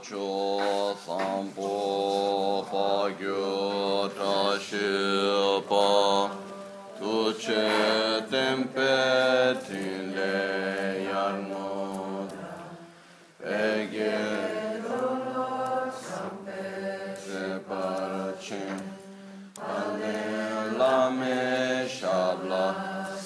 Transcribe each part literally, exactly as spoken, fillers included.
cho sampo pa gyo ta shi pa tu che tempe tin le yarmo pe ge se parachin ale la me shabla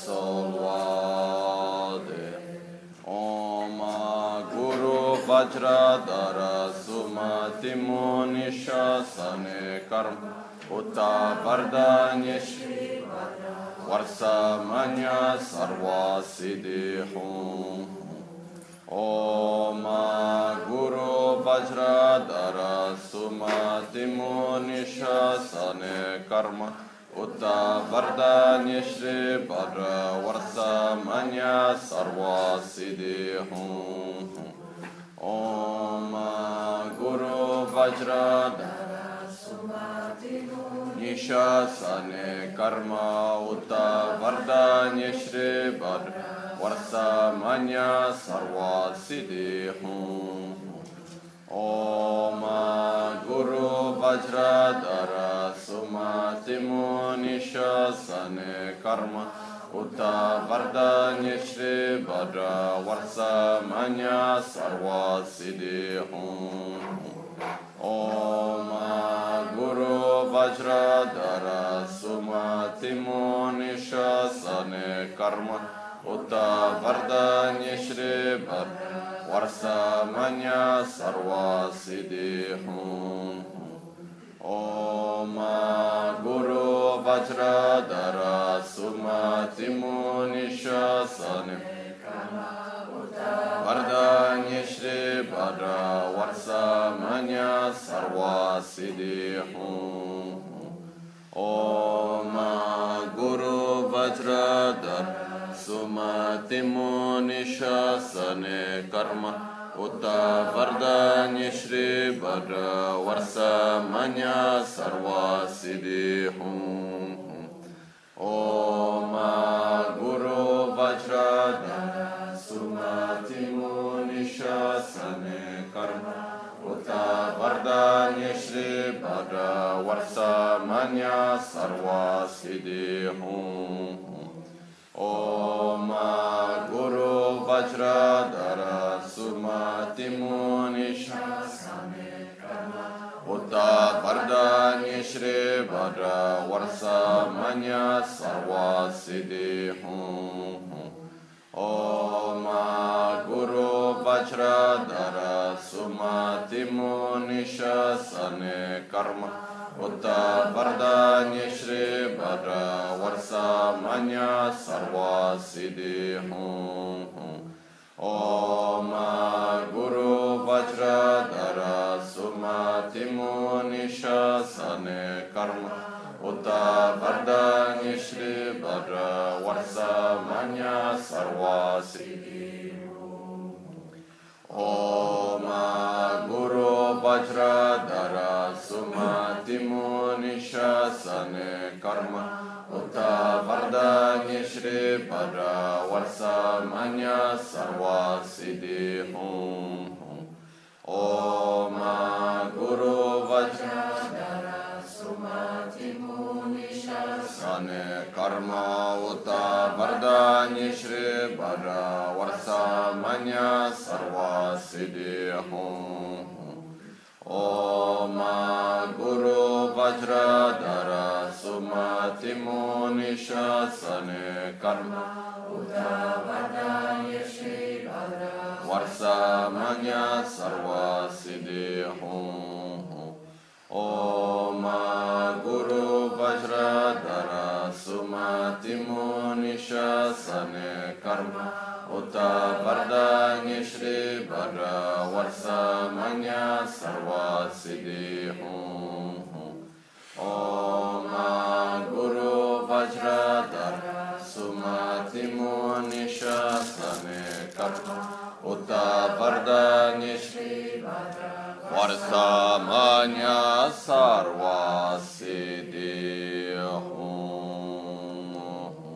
Vajradhara Sumati Munishasane Karma Uta Vardanya Shri Varsa Manya Sarva Siddhi Hum Om Guru Vajradhara Sumati Munishasane Karma Uta Vardanya Shri Varsa Manya Sarva Siddhi Hum Om Guru Vajradhara Sumati Nishasane Karma Uta Vardanya Shri Varsa Manya Sarva Siddhi Hum Om Guru Vajradhara Sumati Nishasane Karma Uta Vardanya Shri Bhadra Varsa Manya Sarva Siddhi Hum Om Guru Vajradhara Sumati Nishasane Karma Uta Vardanya Shri Bhadra Varsa Manya Sarva Siddhi Hum Om Guru Vajradhara Sumati Nishasane Vardanya Shri Bhadra Varsa Manya Sarva Siddhi Hum Om Guru Vajradhara Sumati Nishasane Karma Uta Vardanya Shri Bhadra Varsa Manya Sarva Siddhi Hum Om Guru Vajradhara Sumati Nishasane Karma Uta Vardanya Shri Bhadra Varsa Manya Sarva Siddhi Hum Om Guru Vajradhara Sumati Nishasane Karma Uta Vardanya Shri Bhadra Varsa Manya Sarva Siddhi Hum Om Guru Vajradhara Sumati Nishasane Karma Uta Vardanya Shri Bhadra Varsa Manya Sarva Siddhi Hum Om Guru Vajradhara Sumati Nishasane Karma Uta Vardanya Shri Bhadra Varsa Manya Sarva Siddhi Om Guru Vajradhara Sumati Nishasane Karma Uta Vardanya Shri Bhadra Varsa Manya Sarva Siddhi Hum Om Guru Vajradhara Sumati Nishasane Karma Uta Vardanya Shri Bhadra Varsa Manya Sarva Siddhi Hum Om Guru Vajradhara Sumati Nishasane Karma Uta Vardanya Shri Bhadra Varsa Manya Sarva Siddhi Hum Om Guru Vajradhara Sumati Nishasane Karma Uta Vardanya Shri Bhadra Varsa Manya Sarva Siddhi Hum Om Guru Vajradhara Sumati Nishasane Karma Uta Vardanya Shri Bhadra Varsa Manya Sarva Siddhi Hum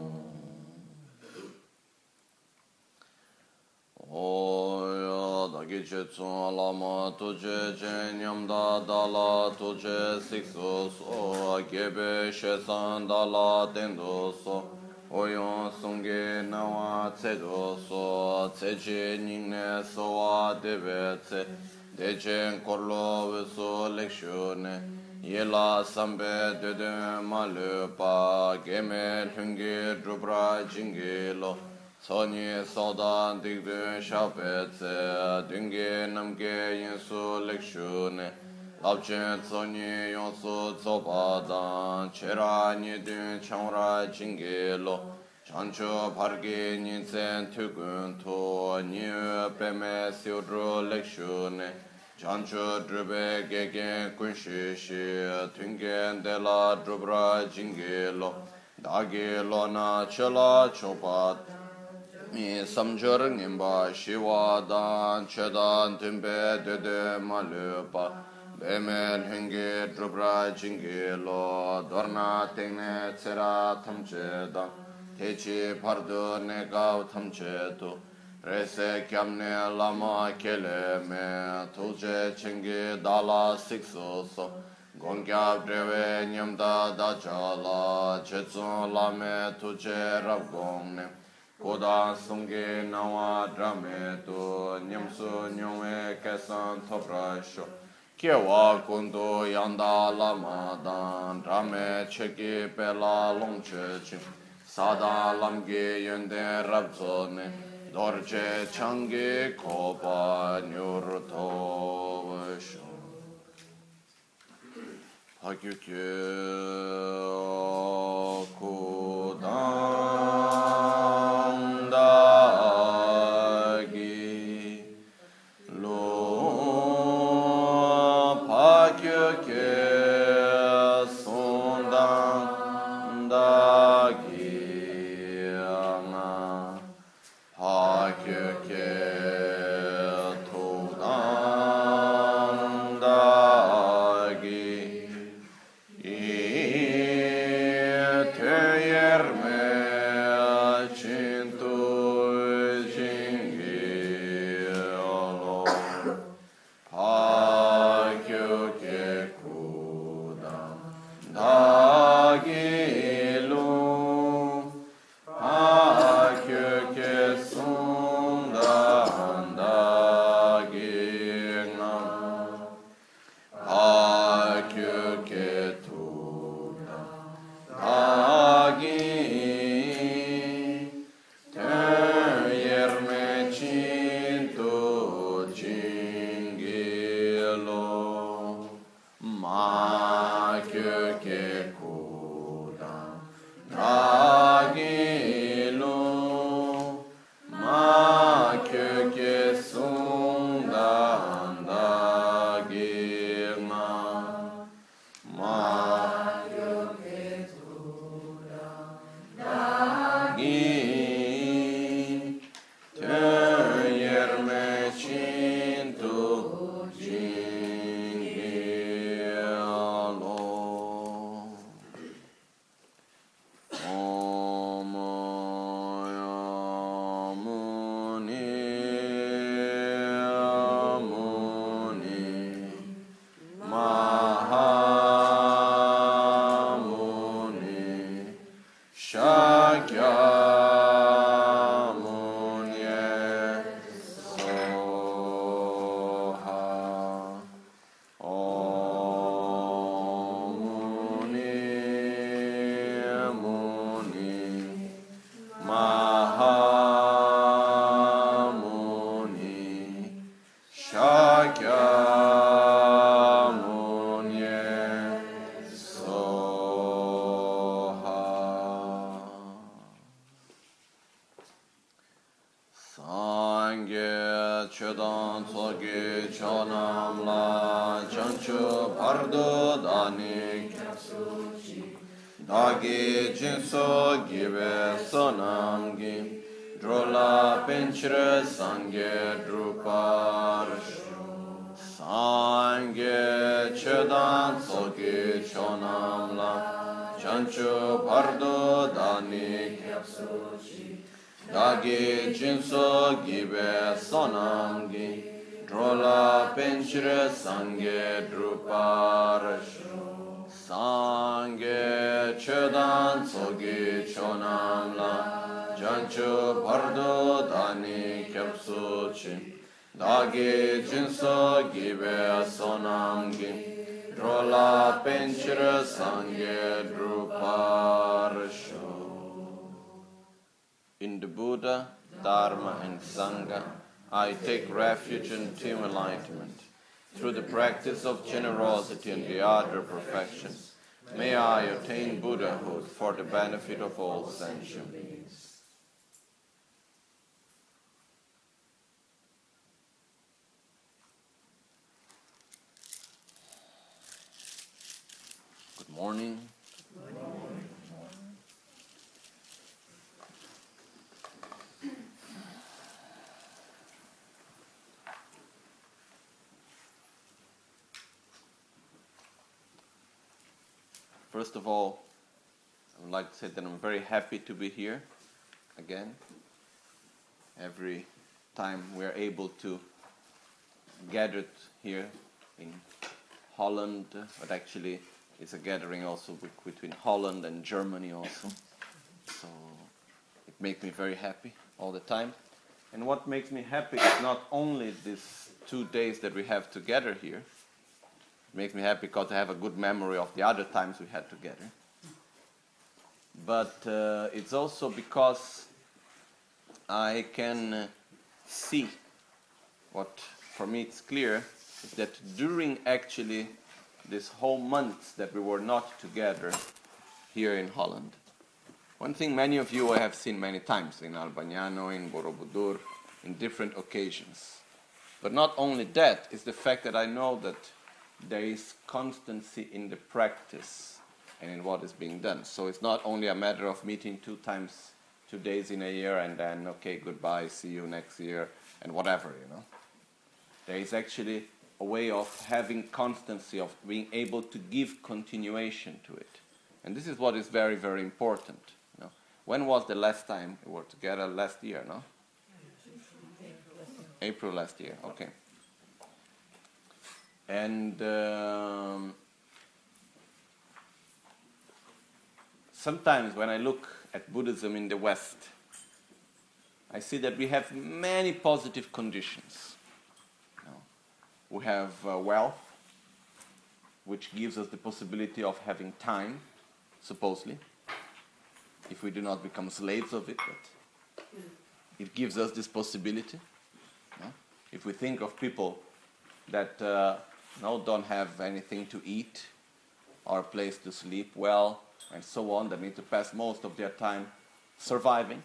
Oya gi che tsun lama tu che che nyam da da la tu che sik so so gebe she san da la ten do so oyon sung ge na wa tse do so tse che ning ne so wa de be tse de chen kor lo ve so lek shu ne ye la sambe de de ma le pa ge me hung ge dru bra jing ge lo Soni sodan digdun shapetse, dunge namge yinsu lekshune, labchen soni yonsu tsopadan, chera nidun changra jingelo, chancho parge ninsen tukun to, niu peme siudru lekshune, chancho drube gegen kunshishi, tungen dela drubra jingelo, dagi lona chela chopat, mi samjur nimba shiwa dan chedan timbe dede malupa bemel hingi drubra jingi lo dorna tengne tsera tamche dan techi pardu negav tamche tu rese kyamne lama kele me tulje chingi dala sikso so gongyab dreve nyamda da chala chetsun lame tuje rabgongne Kodan sungi nawa drame tu nyamsu nyongwe kesan toprasho Kiewa kundu yanda lama dan drame cheki pela longche chim Sada lamgi yende rabzone dorje changi kopa nyurto vasho Hakyukye kudan Dagi jinso give sonamgi drola penchre sangye drupar sangye chedan soki chonamla chanchu pardo dani Dagi jinso give sonamgi Drola Penchire Sangye Druparasho Sangye Chedan Sogi Chonamla Janchu Pardo Dani Kyapsuchi Dagi Jinso Gibe Sonamgi Drola Penchire Sangye Druparasho. In the Buddha, Dharma and Sangha, I take refuge in team enlightenment. Through the practice of generosity and the other perfections, may I attain Buddhahood for the benefit of all sentient beings. Good morning. Good morning. First of all, I would like to say that I'm very happy to be here again. Every time we're able to gather here in Holland, but actually it's a gathering also between Holland and Germany also. So it makes me very happy all the time. And what makes me happy is not only these two days that we have together here. It makes me happy because I have a good memory of the other times we had together. But uh, it's also because I can uh, see what for me it's clear is that during actually this whole month that we were not together here in Holland, one thing many of you I have seen many times in Albagnano, in Borobudur, in different occasions. But not only that, is the fact that I know that there is constancy in the practice and in what is being done. So it's not only a matter of meeting two times, two days in a year and then, okay, goodbye, see you next year, and whatever, you know. There is actually a way of having constancy, of being able to give continuation to it. And this is what is very, very important. You know. When was the last time we were together? Last year, no? April last year, okay. And um, sometimes when I look at Buddhism in the West, I see that we have many positive conditions. You know, we have uh, wealth, which gives us the possibility of having time, supposedly, if we do not become slaves of it, but it gives us this possibility. You know? If we think of people that uh, no, don't have anything to eat or a place to sleep well, and so on, that need to pass most of their time surviving.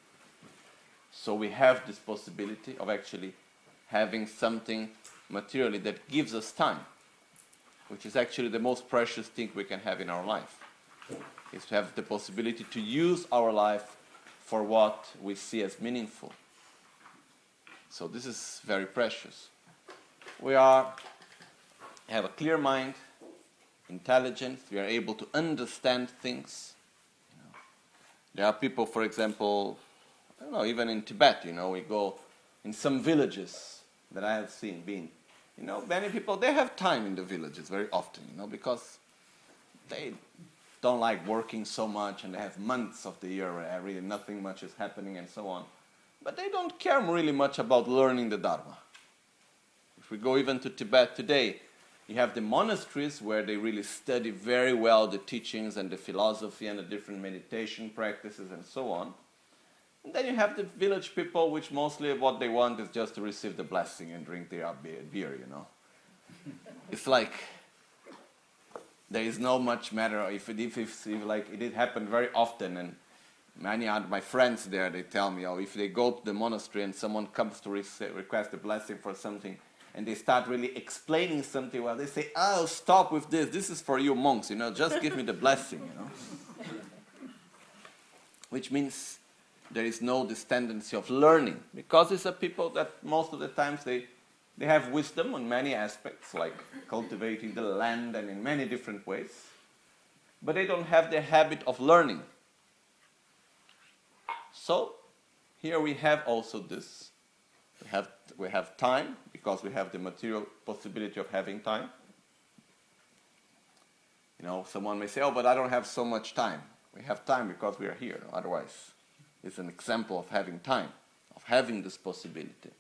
So we have this possibility of actually having something materially that gives us time, which is actually the most precious thing we can have in our life, is to have the possibility to use our life for what we see as meaningful. So this is very precious. We are have a clear mind, intelligence, we are able to understand things. You know, there are people, for example, I don't know, even in Tibet, you know, we go in some villages that I have seen being, you know, many people, they have time in the villages very often, you know, because they don't like working so much and they have months of the year where really nothing much is happening and so on. But they don't care really much about learning the Dharma. If we go even to Tibet today, you have the monasteries where they really study very well the teachings and the philosophy and the different meditation practices and so on. And then you have the village people, which mostly what they want is just to receive the blessing and drink their beer, you know. It's like there is no much matter if it, if, if, if like it did happen very often, and many of my friends there, they tell me, oh, if they go to the monastery and someone comes to re- request a blessing for something, and they start really explaining something, well, they say, oh, stop with this. This is for you monks, you know, just give me the blessing, you know. Which means there is no this tendency of learning, because it's a people that most of the times they, they have wisdom on many aspects, like cultivating the land and in many different ways, but they don't have the habit of learning. So here we have also this. We have we have time, because we have the material possibility of having time. You know, someone may say, oh, but I don't have so much time. We have time because we are here. Otherwise, it's an example of having time, of having this possibility.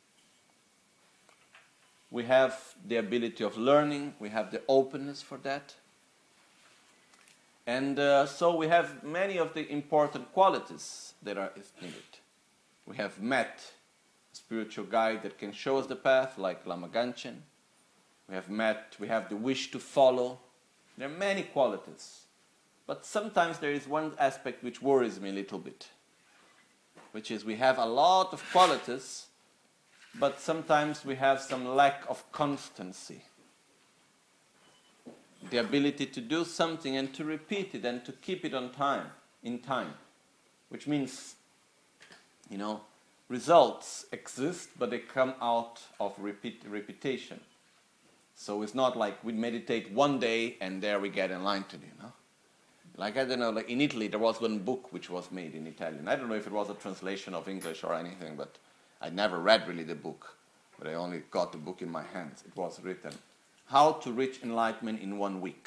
We have the ability of learning. We have the openness for that. And uh, so we have many of the important qualities that are needed. We have met a spiritual guide that can show us the path, like Lama Ganchen. We have met, we have the wish to follow. There are many qualities. But sometimes there is one aspect which worries me a little bit, which is we have a lot of qualities, but sometimes we have some lack of constancy. The ability to do something and to repeat it and to keep it on time, in time. Which means, you know, results exist, but they come out of repeat, repetition. So it's not like we meditate one day and there we get enlightened, you know. Like, I don't know, like in Italy there was one book which was made in Italian. I don't know if it was a translation of English or anything, but I never read really the book. But I only got the book in my hands. It was written, How to Reach Enlightenment in One Week.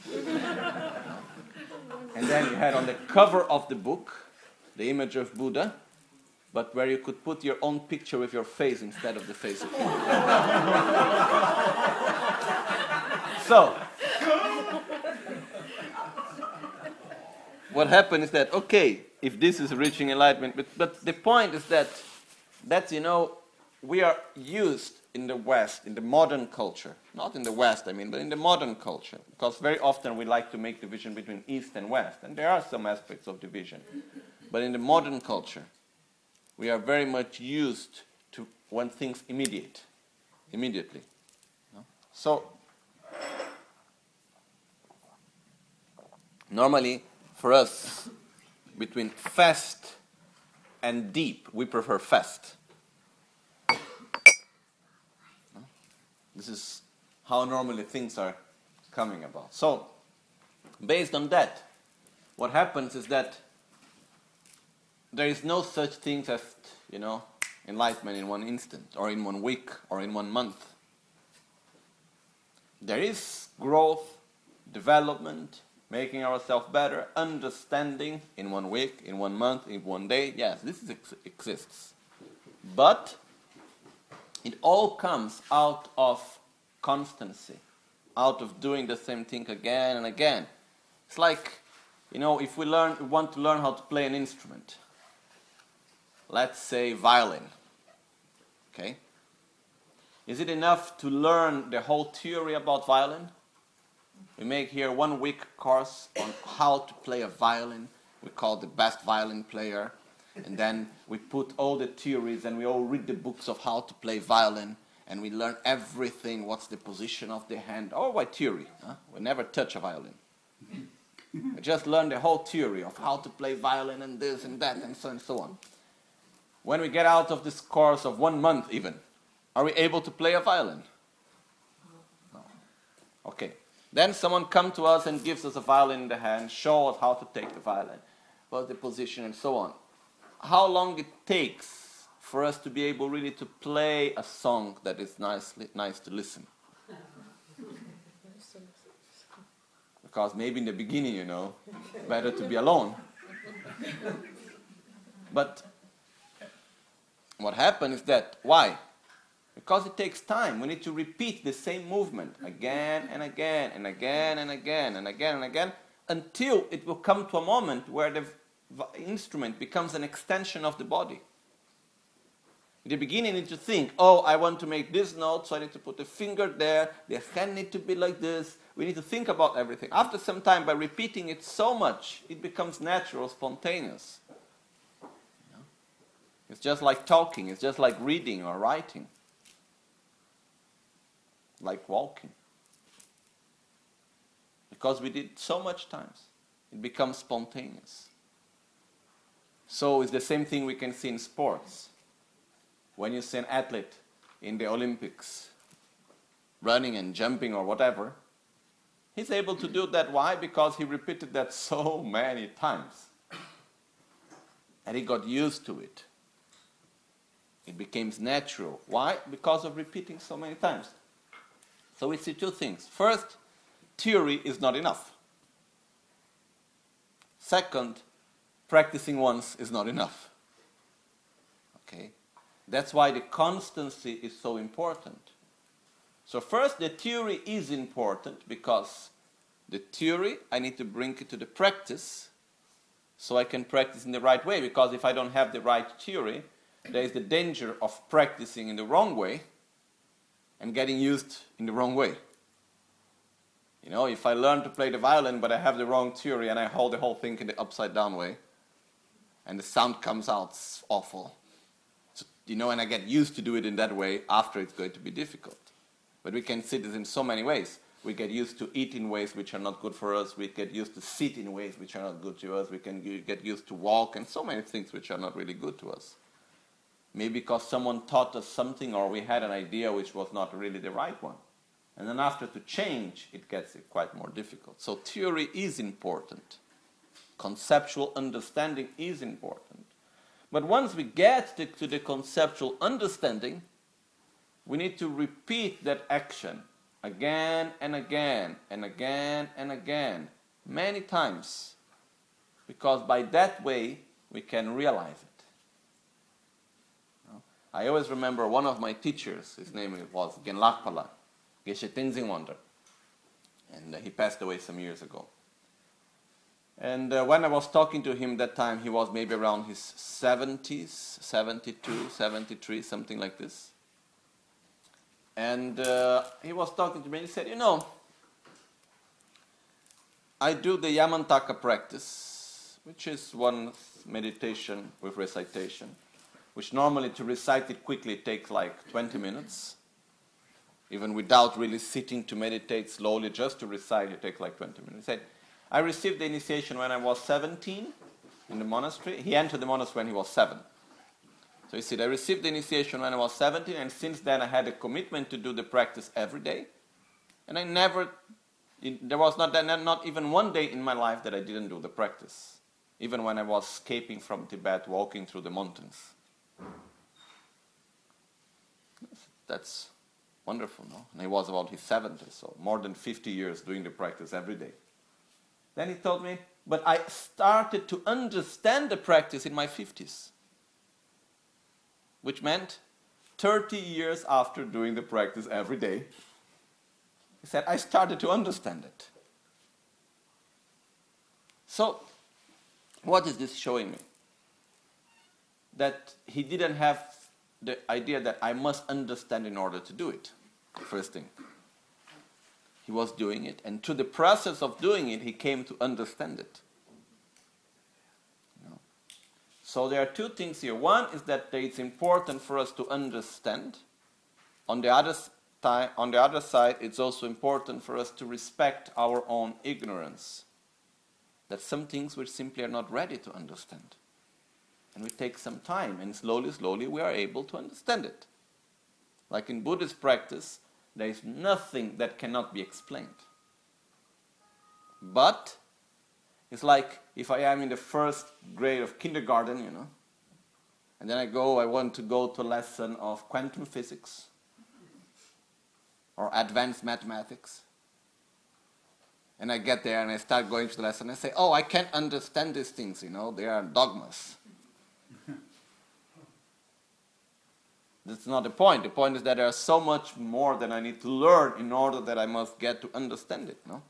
And then you had on the cover of the book the image of Buddha, but where you could put your own picture with your face instead of the face of Buddha. So, what happened is that, okay, if this is reaching enlightenment, but, but the point is that, that, you know, we are used in the West, in the modern culture, not in the West, I mean, but in the modern culture, because very often we like to make division between East and West, and there are some aspects of division. But in the modern culture, we are very much used to want things immediate, immediately. No? So, normally, for us, between fast and deep, we prefer fast. This is how normally things are coming about. So, based on that, what happens is that there is no such thing as, you know, enlightenment in one instant, or in one week, or in one month. There is growth, development, making ourselves better, understanding in one week, in one month, in one day. Yes, this is, ex- exists. But it all comes out of constancy, out of doing the same thing again and again. It's like, you know, if we learn, we want to learn how to play an instrument. Let's say violin. Okay? Is it enough to learn the whole theory about violin? We make here one week course on how to play a violin. We call the best violin player. And then we put all the theories and we all read the books of how to play violin. And we learn everything, what's the position of the hand. Oh, by theory. Huh? We never touch a violin. We just learn the whole theory of how to play violin and this and that and so and so on. When we get out of this course of one month even, are we able to play a violin? No. Okay. Then someone comes to us and gives us a violin in the hand, show us how to take the violin, what's the position and so on. How long it takes for us to be able really to play a song that is nicely, nice to listen. Because maybe in the beginning, you know, better to be alone. But what happens is that, why? Because it takes time. We need to repeat the same movement again and again and again and again and again and again until it will come to a moment where the instrument becomes an extension of the body. In the beginning, you need to think, oh, I want to make this note, so I need to put the finger there, the hand needs to be like this. We need to think about everything. After some time, by repeating it so much, it becomes natural, spontaneous. You know? It's just like talking, it's just like reading or writing. Like walking. Because we did so much times, it becomes spontaneous. So it's the same thing we can see in sports. When you see an athlete in the Olympics, running and jumping or whatever, he's able to do that. Why? Because he repeated that so many times. And he got used to it. It becomes natural. Why? Because of repeating so many times. So we see two things. First, theory is not enough. Second, practicing once is not enough. Okay? That's why the constancy is so important. So first, the theory is important because the theory, I need to bring it to the practice so I can practice in the right way. Because if I don't have the right theory, there is the danger of practicing in the wrong way and getting used in the wrong way. You know, if I learn to play the violin but I have the wrong theory and I hold the whole thing in the upside down way and the sound comes out awful, so, you know, and I get used to do it in that way, after it's going to be difficult. But we can see this in so many ways. We get used to eat in ways which are not good for us. We get used to sit in ways which are not good to us. We can get used to walk and so many things which are not really good to us. Maybe because someone taught us something or we had an idea which was not really the right one. And then after to change, it gets quite more difficult. So theory is important. Conceptual understanding is important. But once we get to, to the conceptual understanding, we need to repeat that action again and again and again and again, many times. Because by that way, we can realize it. I always remember one of my teachers, his name was Genlakpala, Geshe Tenzin Wonder. And uh, he passed away some years ago. And uh, when I was talking to him that time, he was maybe around his seventies, seventy-two, seventy-three, something like this. And uh, he was talking to me and he said, you know, I do the Yamantaka practice, which is one meditation with recitation, which normally to recite it quickly takes like twenty minutes. Even without really sitting to meditate slowly, just to recite it takes like twenty minutes. He said, I received the initiation when I was seventeen in the monastery. He entered the monastery when he was seven. So he said, I received the initiation when I was seventeen, and since then I had a commitment to do the practice every day. And I never, there was not, not even one day in my life that I didn't do the practice. Even when I was escaping from Tibet, walking through the mountains. That's wonderful, no? And he was about his seventies, so more than fifty years doing the practice every day. Then he told me, but I started to understand the practice in my fifties. Which meant thirty years after doing the practice every day. He said, I started to understand it. So, what is this showing me? That he didn't have the idea that I must understand in order to do it. First thing. He was doing it, and through the process of doing it, he came to understand it. You know? So there are two things here. One is that it's important for us to understand. On the other time, on the other side, it's also important for us to respect our own ignorance. That some things we simply are not ready to understand. And we take some time, and slowly, slowly we are able to understand it. Like in Buddhist practice, there is nothing that cannot be explained. But it's like if I am in the first grade of kindergarten, you know, and then I go, I want to go to a lesson of quantum physics or advanced mathematics. And I get there and I start going to the lesson and I say, oh, I can't understand these things, you know, they are dogmas. That's not the point. The point is that there is so much more that I need to learn in order that I must get to understand it, no?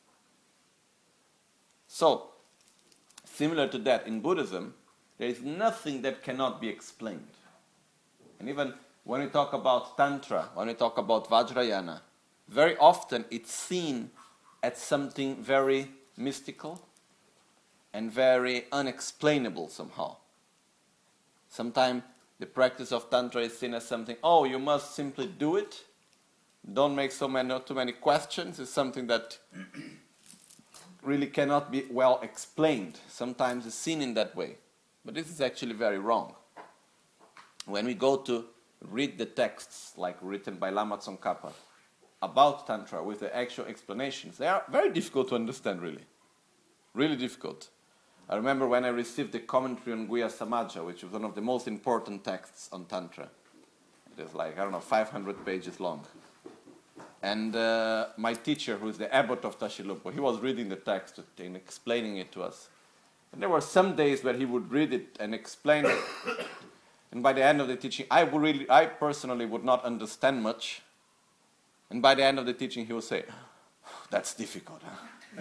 So, similar to that, in Buddhism, there is nothing that cannot be explained. And even when we talk about Tantra, when we talk about Vajrayana, very often it's seen as something very mystical and very unexplainable somehow. Sometimes the practice of Tantra is seen as something, oh, you must simply do it. Don't make so many, not too many questions. It's something that really cannot be well explained. Sometimes it's seen in that way. But this is actually very wrong. When we go to read the texts, like written by Lama Tsongkhapa, about Tantra with the actual explanations, they are very difficult to understand, really. Really difficult. I remember when I received the commentary on Guhya Samaja, which was one of the most important texts on Tantra. It is like, I don't know, five hundred pages long. And uh, my teacher, who is the abbot of Tashilhunpo, he was reading the text and explaining it to us. And there were some days where he would read it and explain it. And by the end of the teaching, I would really, I personally would not understand much. And by the end of the teaching, he would say, "That's difficult, huh?"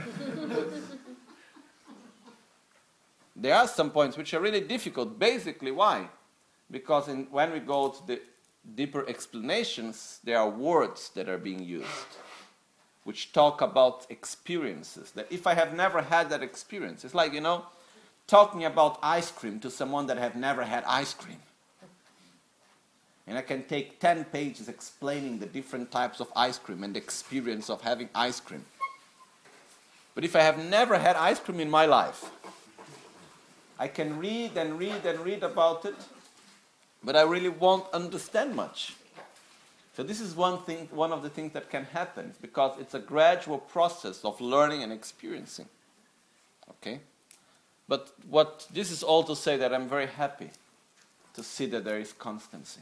There are some points which are really difficult. Basically, why? Because in, when we go to the deeper explanations, there are words that are being used, which talk about experiences. That if I have never had that experience, it's like, you know, talking about ice cream to someone that have never had ice cream. And I can take ten pages explaining the different types of ice cream and the experience of having ice cream. But if I have never had ice cream in my life, I can read and read and read about it, but I really won't understand much. So this is one thing, one of the things that can happen, because it's a gradual process of learning and experiencing. Okay? But what this is all to say that I'm very happy to see that there is constancy.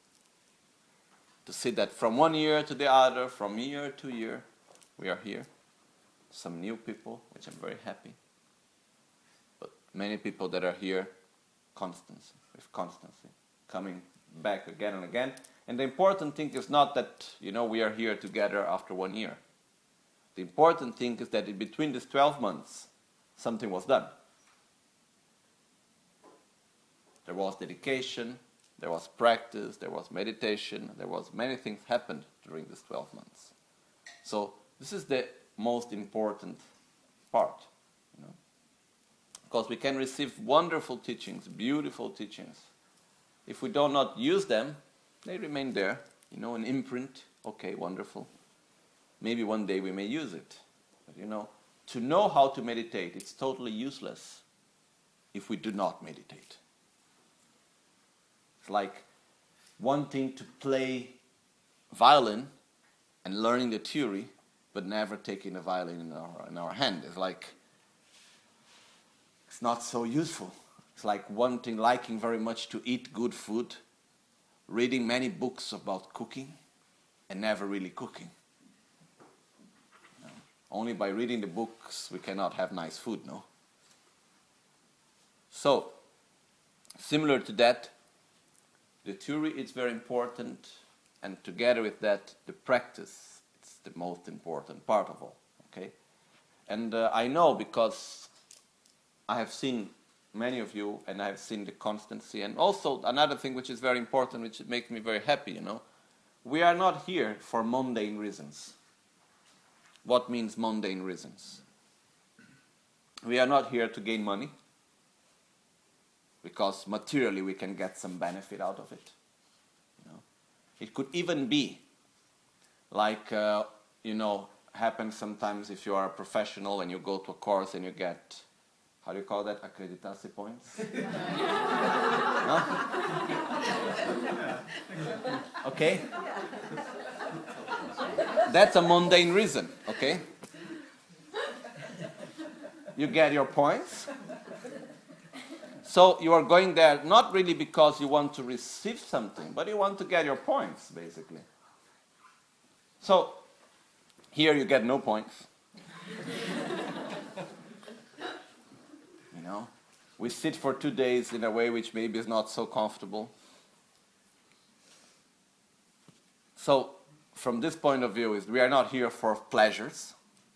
To see that from one year to the other, from year to year, we are here. Some new people, which I'm very happy. But many people that are here, constancy, with constancy, coming back again and again. And the important thing is not that, you know, we are here together after one year. The important thing is that in between these twelve months, something was done. There was dedication, there was practice, there was meditation, there was many things happened during these twelve months. So this is the most important part, you know. Because we can receive wonderful teachings, beautiful teachings. If we do not use them, they remain there, you know, an imprint. Okay, wonderful. Maybe one day we may use it. But, you know, to know how to meditate, it's totally useless if we do not meditate. It's like wanting to play violin and learning the theory, but never taking a violin in our, in our hand. It's like, it's not so useful. It's like wanting, liking very much to eat good food, reading many books about cooking, and never really cooking. You know, only by reading the books we cannot have nice food, no? So, similar to that, the theory is very important, and together with that, the practice, it's the most important part of all, okay? And uh, I know because I have seen many of you, and I have seen the constancy, and also another thing which is very important, which makes me very happy, you know, we are not here for mundane reasons. What means mundane reasons? We are not here to gain money, because materially we can get some benefit out of it. You know, it could even be like, uh, you know, happens sometimes if you are a professional and you go to a course and you get, how do you call that? Accreditation points? No? Okay? That's a mundane reason, okay? You get your points. So you are going there not really because you want to receive something, but you want to get your points, basically. So here you get no points. You know, we sit for two days in a way which maybe is not so comfortable. So, from this point of view, is we are not here for pleasures.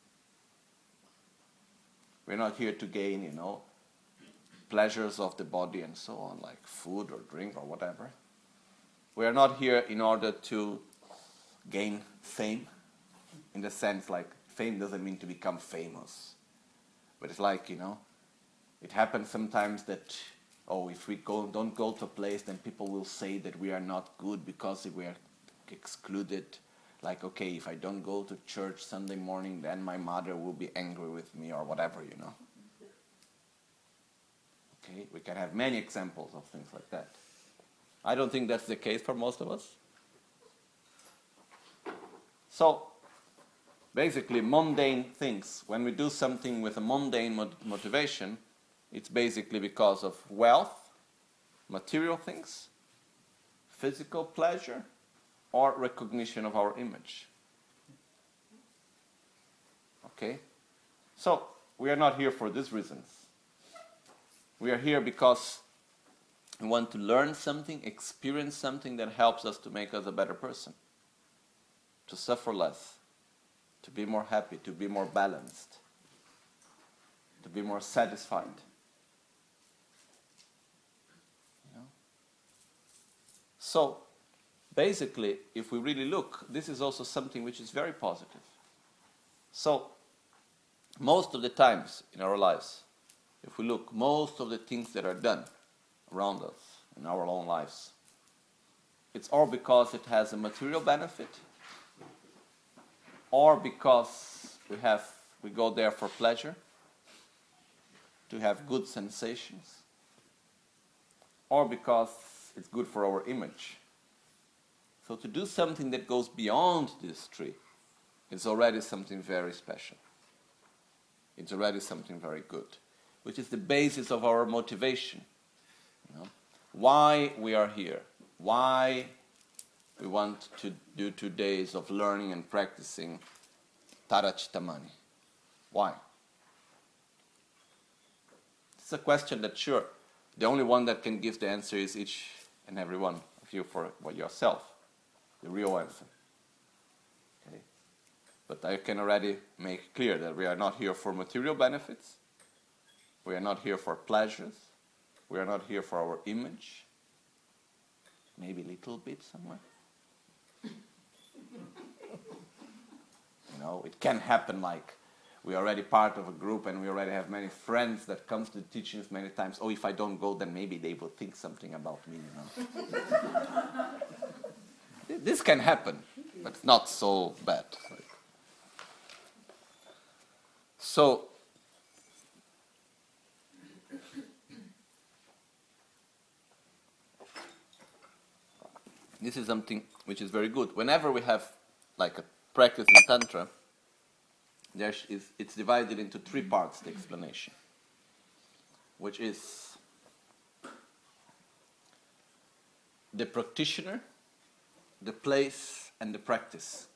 We're not here to gain, you know, pleasures of the body and so on, like food or drink or whatever. We are not here in order to gain fame, in the sense like fame doesn't mean to become famous. But it's like, you know, it happens sometimes that, oh, if we go, don't go to a place, then people will say that we are not good because we are excluded. Like, okay, if I don't go to church Sunday morning, then my mother will be angry with me or whatever, you know. Okay, we can have many examples of things like that. I don't think that's the case for most of us. So, basically, mundane things, when we do something with a mundane mot- motivation, it's basically because of wealth, material things, physical pleasure, or recognition of our image. Okay? So, we are not here for these reasons. We are here because we want to learn something, experience something that helps us to make us a better person, to suffer less, to be more happy, to be more balanced, to be more satisfied. You know? So, basically, if we really look, this is also something which is very positive. So, most of the times in our lives, if we look, most of the things that are done around us in our own lives, it's all because it has a material benefit, or because we have we go there for pleasure, to have good sensations, or because it's good for our image. So to do something that goes beyond this tree is already something very special. It's already something very good, which is the basis of our motivation. You know? Why we are here, why we want to do two days of learning and practicing Tara Chittamani. Why? It's a question that, sure, the only one that can give the answer is each and every one of you for yourself, the real answer. Okay? But I can already make clear that we are not here for material benefits, we are not here for pleasures, we are not here for our image, maybe a little bit somewhere. You know, it can happen like we are already part of a group and we already have many friends that come to the teachings many times. Oh, if I don't go, then maybe they will think something about me, you know. This can happen, but it's not so bad. So, this is something which is very good. Whenever we have like a practice in Tantra, there is, it's divided into three parts, the explanation, which is the practitioner, the place, and the practice,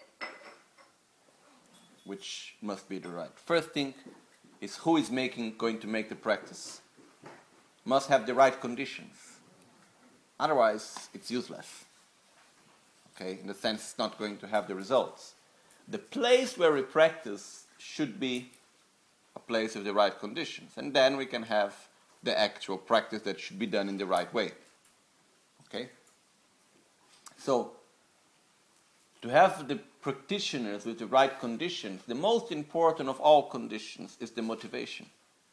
which must be the right. First thing is who is making, going to make the practice. Must have the right conditions. Otherwise, it's useless. Okay, in the sense it's not going to have the results. The place where we practice should be a place with the right conditions. And then we can have the actual practice that should be done in the right way. Okay? So, to have the practitioners with the right conditions, the most important of all conditions is the motivation.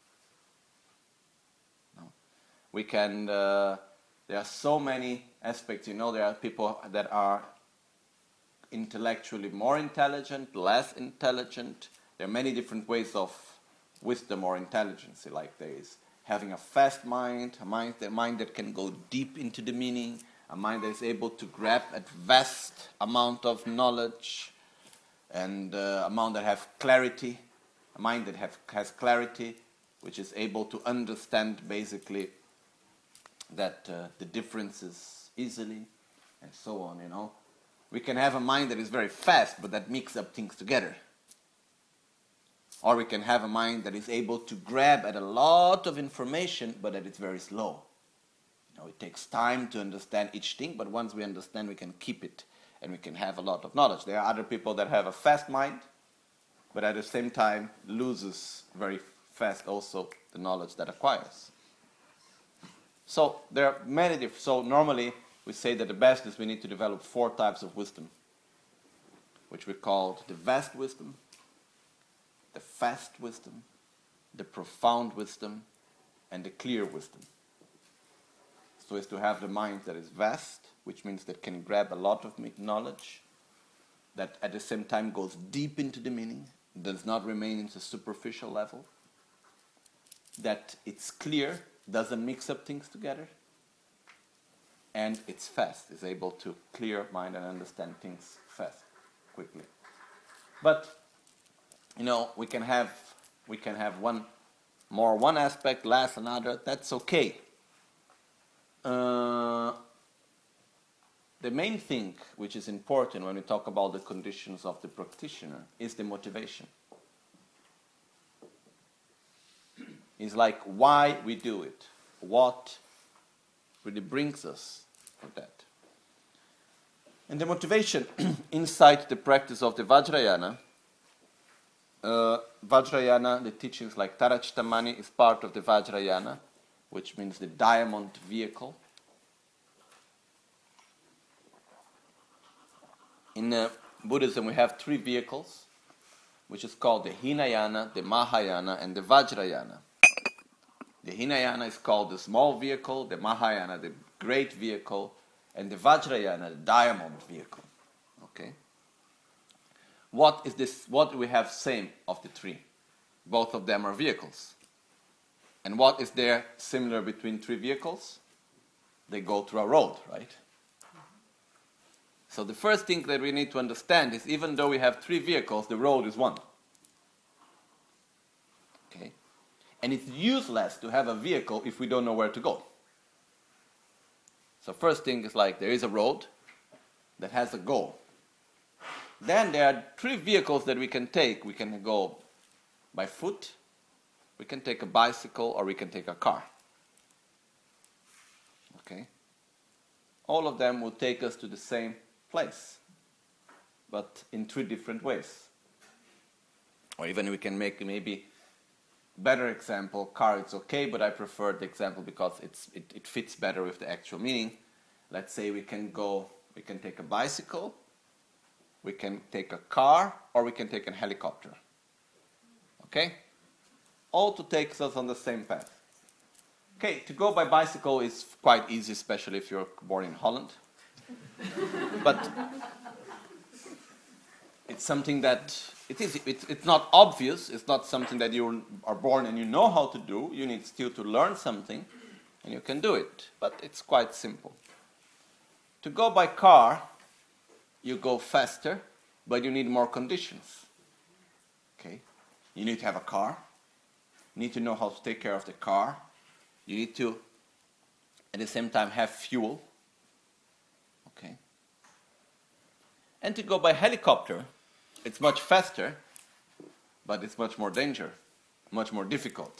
No. We can, uh, there are so many aspects, you know, there are people that are intellectually more intelligent, less intelligent. There are many different ways of wisdom or intelligence, like there is having a fast mind, a mind, a mind that can go deep into the meaning, a mind that is able to grab a vast amount of knowledge, and uh, a mind that has clarity, a mind that have, has clarity, which is able to understand basically that uh, the differences easily, and so on, you know. We can have a mind that is very fast, but that mixes up things together. Or we can have a mind that is able to grab at a lot of information, but that it's very slow. You know, it takes time to understand each thing, but once we understand, we can keep it, and we can have a lot of knowledge. There are other people that have a fast mind, but at the same time loses very fast also the knowledge that acquires. So there are many different. So normally we say that the best is we need to develop four types of wisdom, which we call the vast wisdom, the fast wisdom, the profound wisdom, and the clear wisdom. So it's to have the mind that is vast, which means that can grab a lot of knowledge, that at the same time goes deep into the meaning, does not remain in the superficial level, that it's clear, doesn't mix up things together, and it's fast, is able to clear mind and understand things fast, quickly. But, you know, we can have we can have one more one aspect, less another, that's okay. Uh, the main thing which is important when we talk about the conditions of the practitioner is the motivation. It's like why we do it, what really brings us for that. And the motivation inside the practice of the Vajrayana, uh, Vajrayana, the teachings like Tarachtamani is part of the Vajrayana, which means the diamond vehicle. In uh, Buddhism, we have three vehicles, which is called the Hinayana, the Mahayana, and the Vajrayana. The Hinayana is called the small vehicle, the Mahayana, the great vehicle, and the Vajrayana, the diamond vehicle. Okay? What is this? What do we have same of the three? Both of them are vehicles. And what is there similar between three vehicles? They go through a road, right? So the first thing that we need to understand is even though we have three vehicles, the road is one. Okay? And it's useless to have a vehicle if we don't know where to go. So first thing is like there is a road that has a goal. Then there are three vehicles that we can take. We can go by foot, we can take a bicycle, or we can take a car. Okay? All of them will take us to the same place, but in three different ways. Or even we can make maybe better example, car it's okay, but I prefer the example because it's it, it fits better with the actual meaning. Let's say we can go, we can take a bicycle, we can take a car, or we can take a helicopter. Okay? All to take us on the same path. Okay, to go by bicycle is quite easy, especially if you're born in Holland. But it's something that it is it's, it's not obvious. It's not something that you are born and you know how to do. You need still to learn something, and you can do it. But it's quite simple. To go by car, you go faster, but you need more conditions. Okay, you need to have a car. You need to know how to take care of the car. You need to, at the same time, have fuel. Okay. And to go by helicopter, it's much faster, but it's much more danger, much more difficult.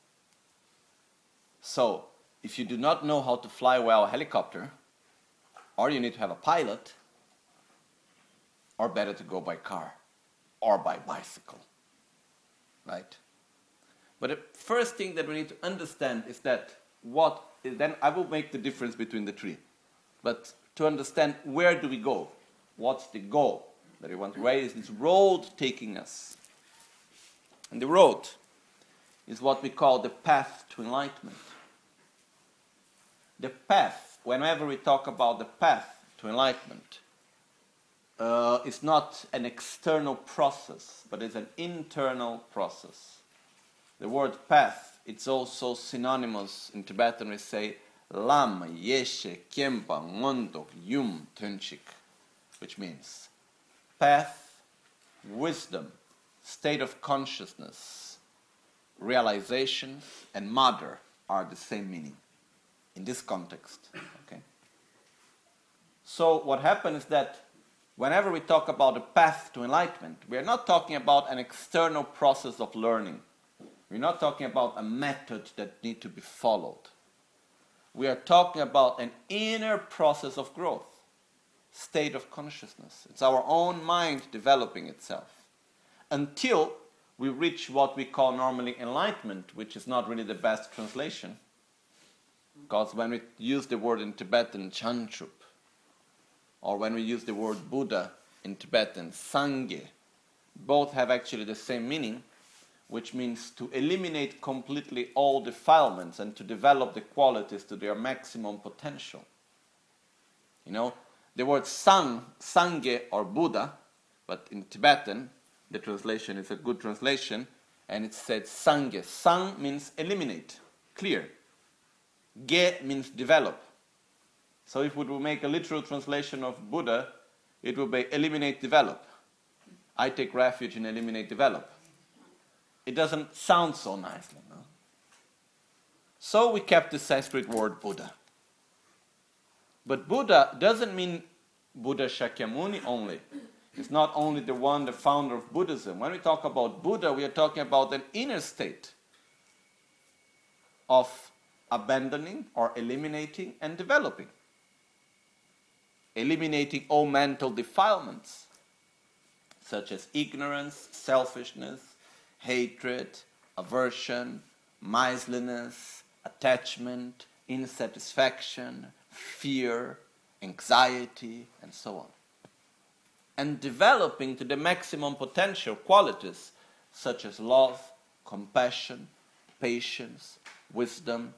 So, if you do not know how to fly well a helicopter, or you need to have a pilot, or better to go by car, or by bicycle. Right? But the first thing that we need to understand is that what, then I will make the difference between the three. But to understand where do we go? What's the goal that we want? Where is this road taking us? And the road is what we call the path to enlightenment. The path, whenever we talk about the path to enlightenment, uh, it's not an external process, but it's an internal process. The word path, it's also synonymous in Tibetan. We say lam, yeshe, kempa, ngondok, yum, tunchik, which means path, wisdom, state of consciousness, realization, and mother are the same meaning in this context. Okay. So what happens is that whenever we talk about the path to enlightenment, we are not talking about an external process of learning. We're not talking about a method that needs to be followed. We are talking about an inner process of growth, state of consciousness. It's our own mind developing itself until we reach what we call normally enlightenment, which is not really the best translation. Because when we use the word in Tibetan, Chanchup, or when we use the word Buddha in Tibetan, Sangye, both have actually the same meaning, which means to eliminate completely all defilements and to develop the qualities to their maximum potential. You know, the word Sang, Sangye or Buddha, but in Tibetan, the translation is a good translation, and it said Sangye. Sang means eliminate, clear. Ge means develop. So if we would make a literal translation of Buddha, it would be eliminate, develop. I take refuge in eliminate, develop. It doesn't sound so nicely, no? So we kept the Sanskrit word Buddha. But Buddha doesn't mean Buddha Shakyamuni only. It's not only the one, the founder of Buddhism. When we talk about Buddha, we are talking about an inner state of abandoning or eliminating and developing. Eliminating all mental defilements, such as ignorance, selfishness, hatred, aversion, miserliness, attachment, insatisfaction, fear, anxiety, and so on. And developing to the maximum potential qualities such as love, compassion, patience, wisdom,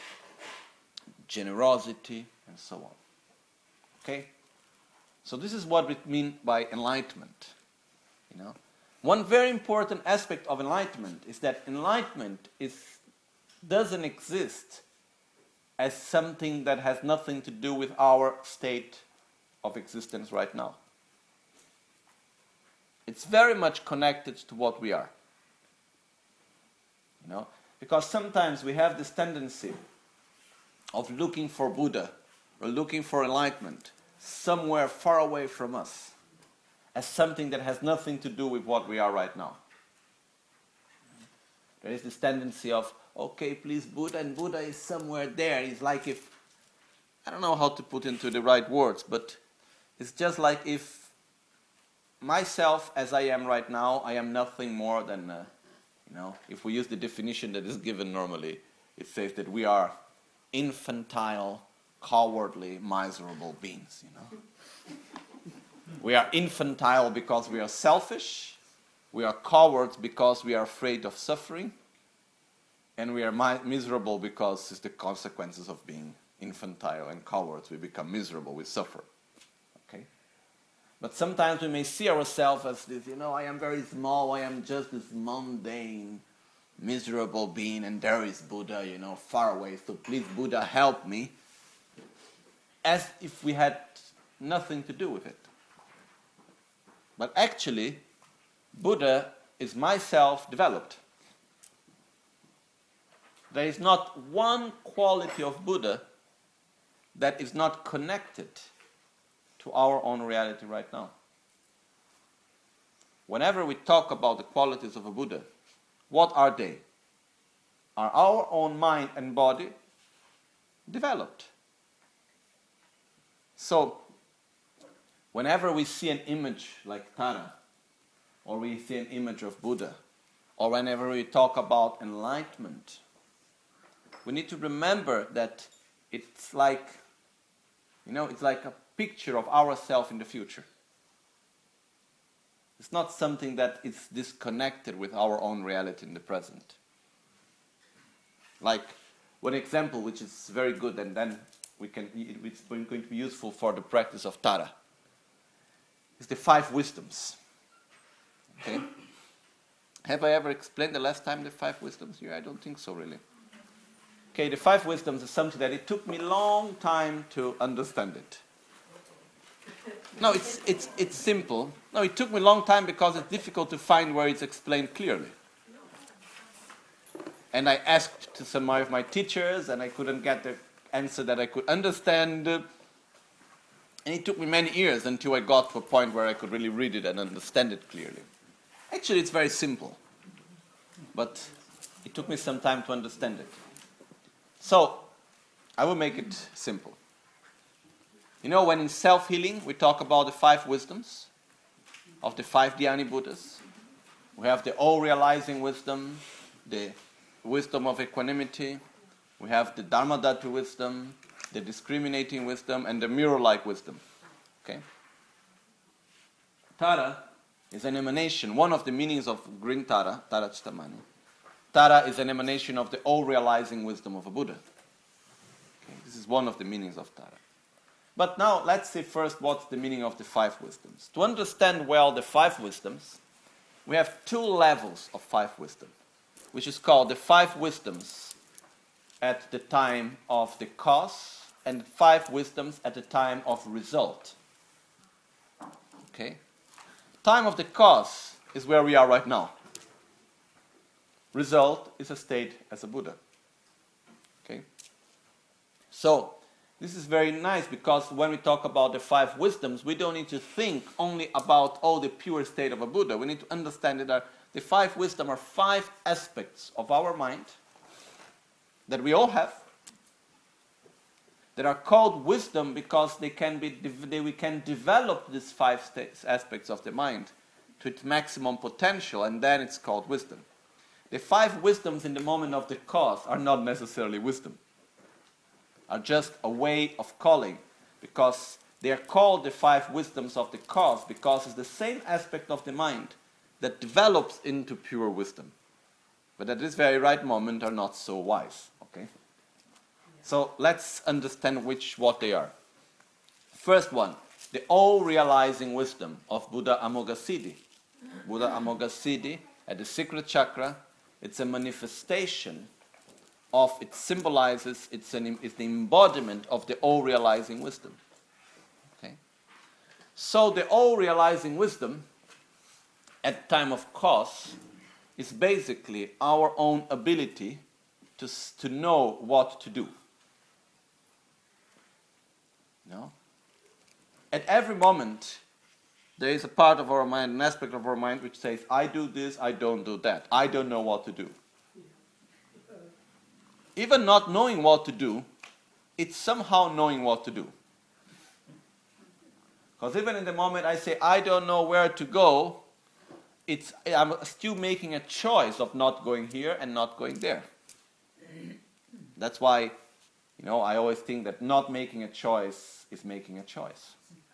generosity, and so on. Okay? So this is what we mean by enlightenment. You know? One very important aspect of enlightenment is that enlightenment is, doesn't exist as something that has nothing to do with our state of existence right now. It's very much connected to what we are. You know? Because sometimes we have this tendency of looking for Buddha or looking for enlightenment somewhere far away from us as something that has nothing to do with what we are right now. There is this tendency of, okay, please Buddha, and Buddha is somewhere there. It's like if, I don't know how to put into the right words, but it's just like if myself as I am right now, I am nothing more than, uh, you know, if we use the definition that is given normally, it says that we are infantile, cowardly, miserable beings, you know. We are infantile because we are selfish, we are cowards because we are afraid of suffering, and we are mi- miserable because it's the consequences of being infantile and cowards. We become miserable, we suffer. Okay? But sometimes we may see ourselves as this, you know, I am very small, I am just this mundane, miserable being, and there is Buddha, you know, far away, so please Buddha help me, as if we had nothing to do with it. But actually, Buddha is myself developed. There is not one quality of Buddha that is not connected to our own reality right now. Whenever we talk about the qualities of a Buddha, what are they? Are our own mind and body developed? So, whenever we see an image like Tara, or we see an image of Buddha, or whenever we talk about enlightenment, we need to remember that it's like, you know, it's like a picture of ourselves in the future. It's not something that is disconnected with our own reality in the present. Like, one example which is very good, and then we can, it's going to be useful for the practice of Tara, is the five wisdoms. Okay? Have I ever explained the last time the five wisdoms here? I don't think so, really. Okay, the five wisdoms is something that it took me a long time to understand it. No, it's it's it's simple. No, it took me a long time because it's difficult to find where it's explained clearly. And I asked to some of my teachers, and I couldn't get the answer that I could understand. And it took me many years until I got to a point where I could really read it and understand it clearly. Actually, it's very simple, but it took me some time to understand it. So, I will make it simple. You know, when in self-healing, we talk about the five wisdoms of the five Dhyani Buddhas. We have the all-realizing wisdom, the wisdom of equanimity, we have the Dharmadhatu wisdom, the discriminating wisdom, and the mirror-like wisdom. Okay? Tara is an emanation, one of the meanings of green Tara, Tara Chittamani. Tara is an emanation of the all-realizing wisdom of a Buddha. Okay? This is one of the meanings of Tara. But now, let's see first what's the meaning of the five wisdoms. To understand well the five wisdoms, we have two levels of five wisdom, which is called the five wisdoms at the time of the cause and five wisdoms at the time of result. Okay? Time of the cause is where we are right now. Result is a state as a Buddha. So, this is very nice because when we talk about the five wisdoms, we don't need to think only about, oh, the pure state of a Buddha. We need to understand that the five wisdom are five aspects of our mind that we all have, that are called wisdom because they can be they, we can develop these five states, aspects of the mind to its maximum potential, and then it's called wisdom. The five wisdoms in the moment of the cause are not necessarily wisdom, are just a way of calling, because they are called the five wisdoms of the cause because it's the same aspect of the mind that develops into pure wisdom, but at this very right moment are not so wise. Okay. So let's understand which what they are. First one, the all-realizing wisdom of Buddha Amoghasiddhi. Buddha Amoghasiddhi at the secret chakra, it's a manifestation of, it symbolizes, it's, an, it's the embodiment of the all-realizing wisdom. Okay? So the all-realizing wisdom at time of cause is basically our own ability to, to know what to do. No? At every moment, there is a part of our mind, an aspect of our mind which says, I do this, I don't do that. I don't know what to do. Even not knowing what to do, it's somehow knowing what to do. Because even in the moment I say, I don't know where to go, it's, I'm still making a choice of not going here and not going there. That's why, you know, I always think that not making a choice is making a choice.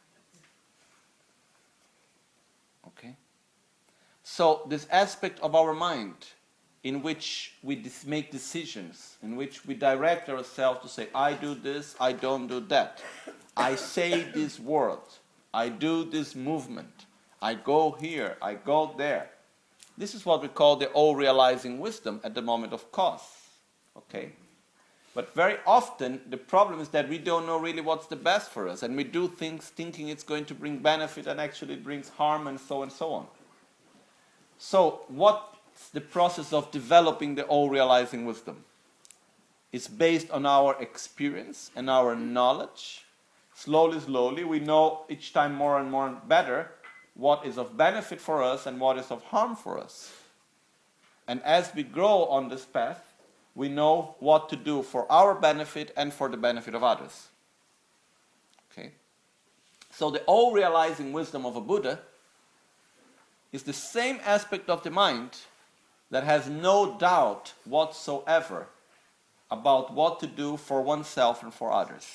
Okay? So this aspect of our mind in which we dis- make decisions, in which we direct ourselves to say, I do this, I don't do that. I say this word, I do this movement, I go here, I go there. This is what we call the all-realizing wisdom at the moment of cause. Okay? But very often, the problem is that we don't know really what's the best for us, and we do things thinking it's going to bring benefit, and actually it brings harm, and so and so on. So, what's the process of developing the all-realizing wisdom? It's based on our experience and our knowledge. Slowly, slowly, we know each time more and more better what is of benefit for us and what is of harm for us. And as we grow on this path, we know what to do for our benefit and for the benefit of others. Okay? So the all-realizing wisdom of a Buddha is the same aspect of the mind that has no doubt whatsoever about what to do for oneself and for others.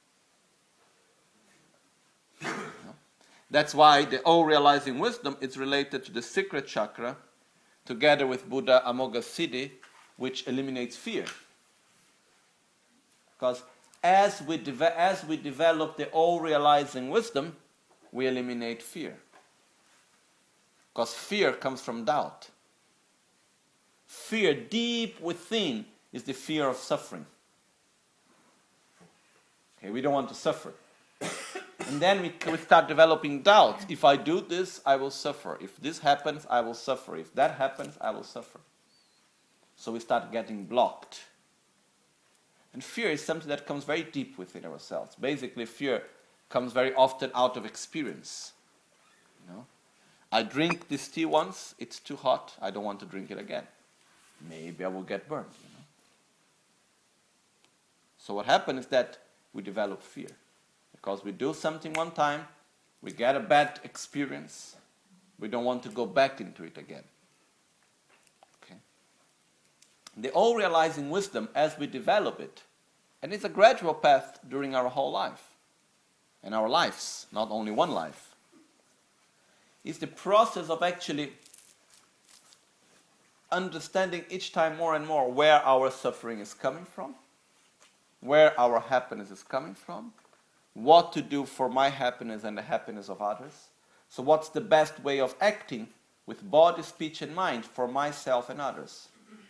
That's why the all-realizing wisdom is related to the secret chakra, together with Buddha Amoghasiddhi, which eliminates fear. Because as we, de- as we develop the all-realizing wisdom, we eliminate fear. Because fear comes from doubt. Fear deep within is the fear of suffering. Okay, we don't want to suffer. And then we, we start developing doubts. If I do this, I will suffer. If this happens, I will suffer. If that happens, I will suffer. So we start getting blocked. And fear is something that comes very deep within ourselves. Basically, fear comes very often out of experience. You know? I drink this tea once, it's too hot, I don't want to drink it again. Maybe I will get burned. You know? So what happens is that we develop fear. Because we do something one time, we get a bad experience, we don't want to go back into it again. The all-realizing wisdom, as we develop it, and it's a gradual path during our whole life, and our lives, not only one life, is the process of actually understanding each time more and more where our suffering is coming from, where our happiness is coming from, what to do for my happiness and the happiness of others. So what's the best way of acting with body, speech, and mind for myself and others?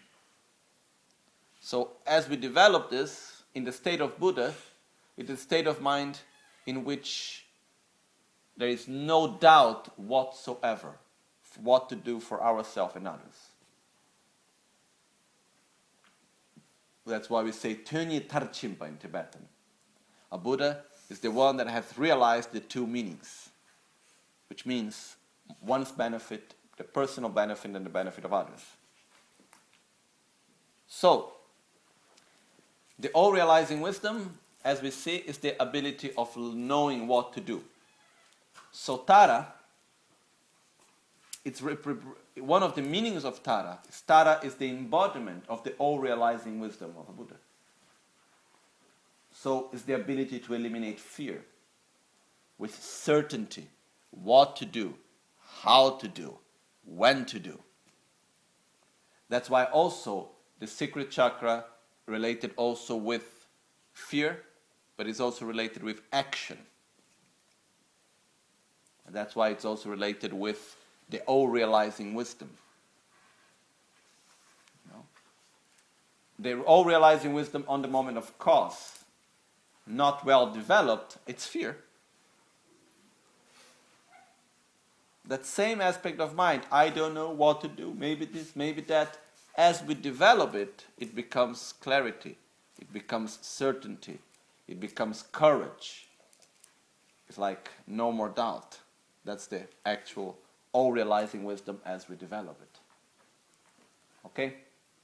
So as we develop this, in the state of Buddha, it is a state of mind in which there is no doubt whatsoever what to do for ourselves and others. That's why we say Tönyi Tarchimpa in Tibetan. A Buddha is the one that has realized the two meanings, which means one's benefit, the personal benefit, and the benefit of others. So, the all-realizing wisdom, as we see, is the ability of knowing what to do. So Tara, it's rep- rep- one of the meanings of Tara. Is Tara is the embodiment of the all-realizing wisdom of a Buddha. So it's the ability to eliminate fear with certainty, what to do, how to do, when to do. That's why also the secret chakra related also with fear, but it's also related with action. And that's why it's also related with the all-realizing wisdom. You know? The all-realizing wisdom on the moment of cause, not well developed, it's fear. That same aspect of mind, I don't know what to do, maybe this, maybe that. As we develop it, it becomes clarity, it becomes certainty, it becomes courage. It's like no more doubt. That's the actual all-realizing wisdom as we develop it. Okay?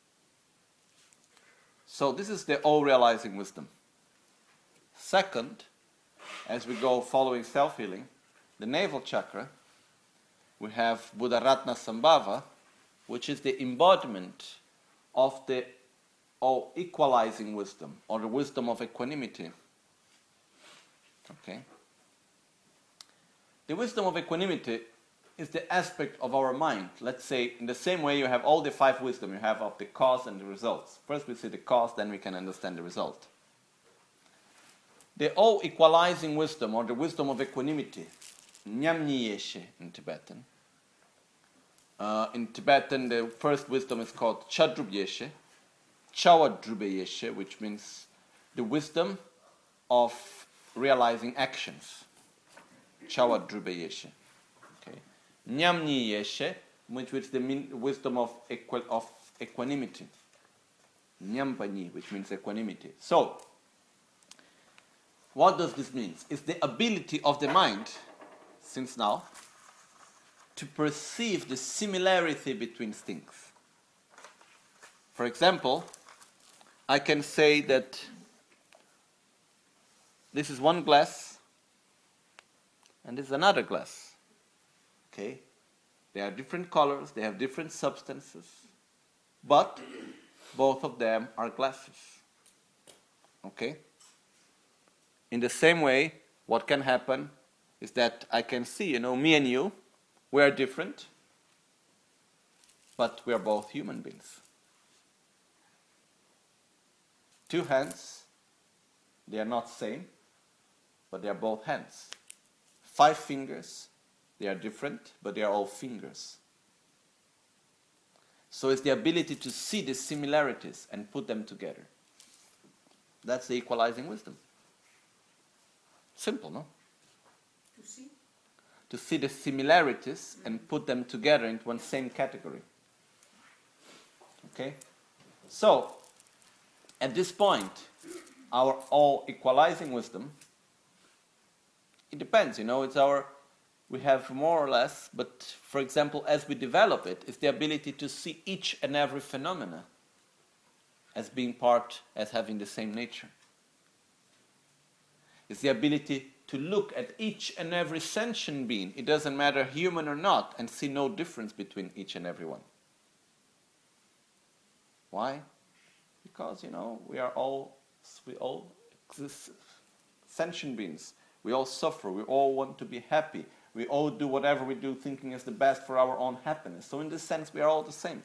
So this is the all-realizing wisdom. Second, as we go following self-healing, the navel chakra, we have Buddharatna Sambhava, which is the embodiment of the all-equalizing wisdom, or the wisdom of equanimity. Okay? The wisdom of equanimity is the aspect of our mind. Let's say, in the same way you have all the five wisdom, you have of the cause and the results. First we see the cause, then we can understand the result. The all-equalizing wisdom, or the wisdom of equanimity, Nyamnyi Yeshe in Tibetan. Uh, in Tibetan, the first wisdom is called Chadrub Yeshe, Chawadrube Yeshe, which means the wisdom of realizing actions. Chawadrube Yeshe. Okay. Nyamnyi Yeshe, which is the min- wisdom of, equi- of equanimity. Nyampanyi, which means equanimity. So, what does this mean? It's the ability of the mind, since now, to perceive the similarity between things. For example, I can say that this is one glass and this is another glass. Okay? They are different colors, they have different substances, but both of them are glasses. Okay? In the same way, what can happen is that I can see, you know, me and you, we are different, but we are both human beings. Two hands, they are not same, but they are both hands. Five fingers, they are different, but they are all fingers. So it's the ability to see the similarities and put them together. That's the equalizing wisdom. Simple, no? To see? To see the similarities and put them together into one same category. Okay? So, at this point, our all equalizing wisdom, it depends, you know, it's our, we have more or less, but for example, as we develop it, it's the ability to see each and every phenomena as being part, as having the same nature. It's the ability to look at each and every sentient being, it doesn't matter human or not, and see no difference between each and every one. Why? Because, you know, we are all, we all exist, sentient beings. We all suffer, we all want to be happy. We all do whatever we do thinking is the best for our own happiness. So in this sense, we are all the same.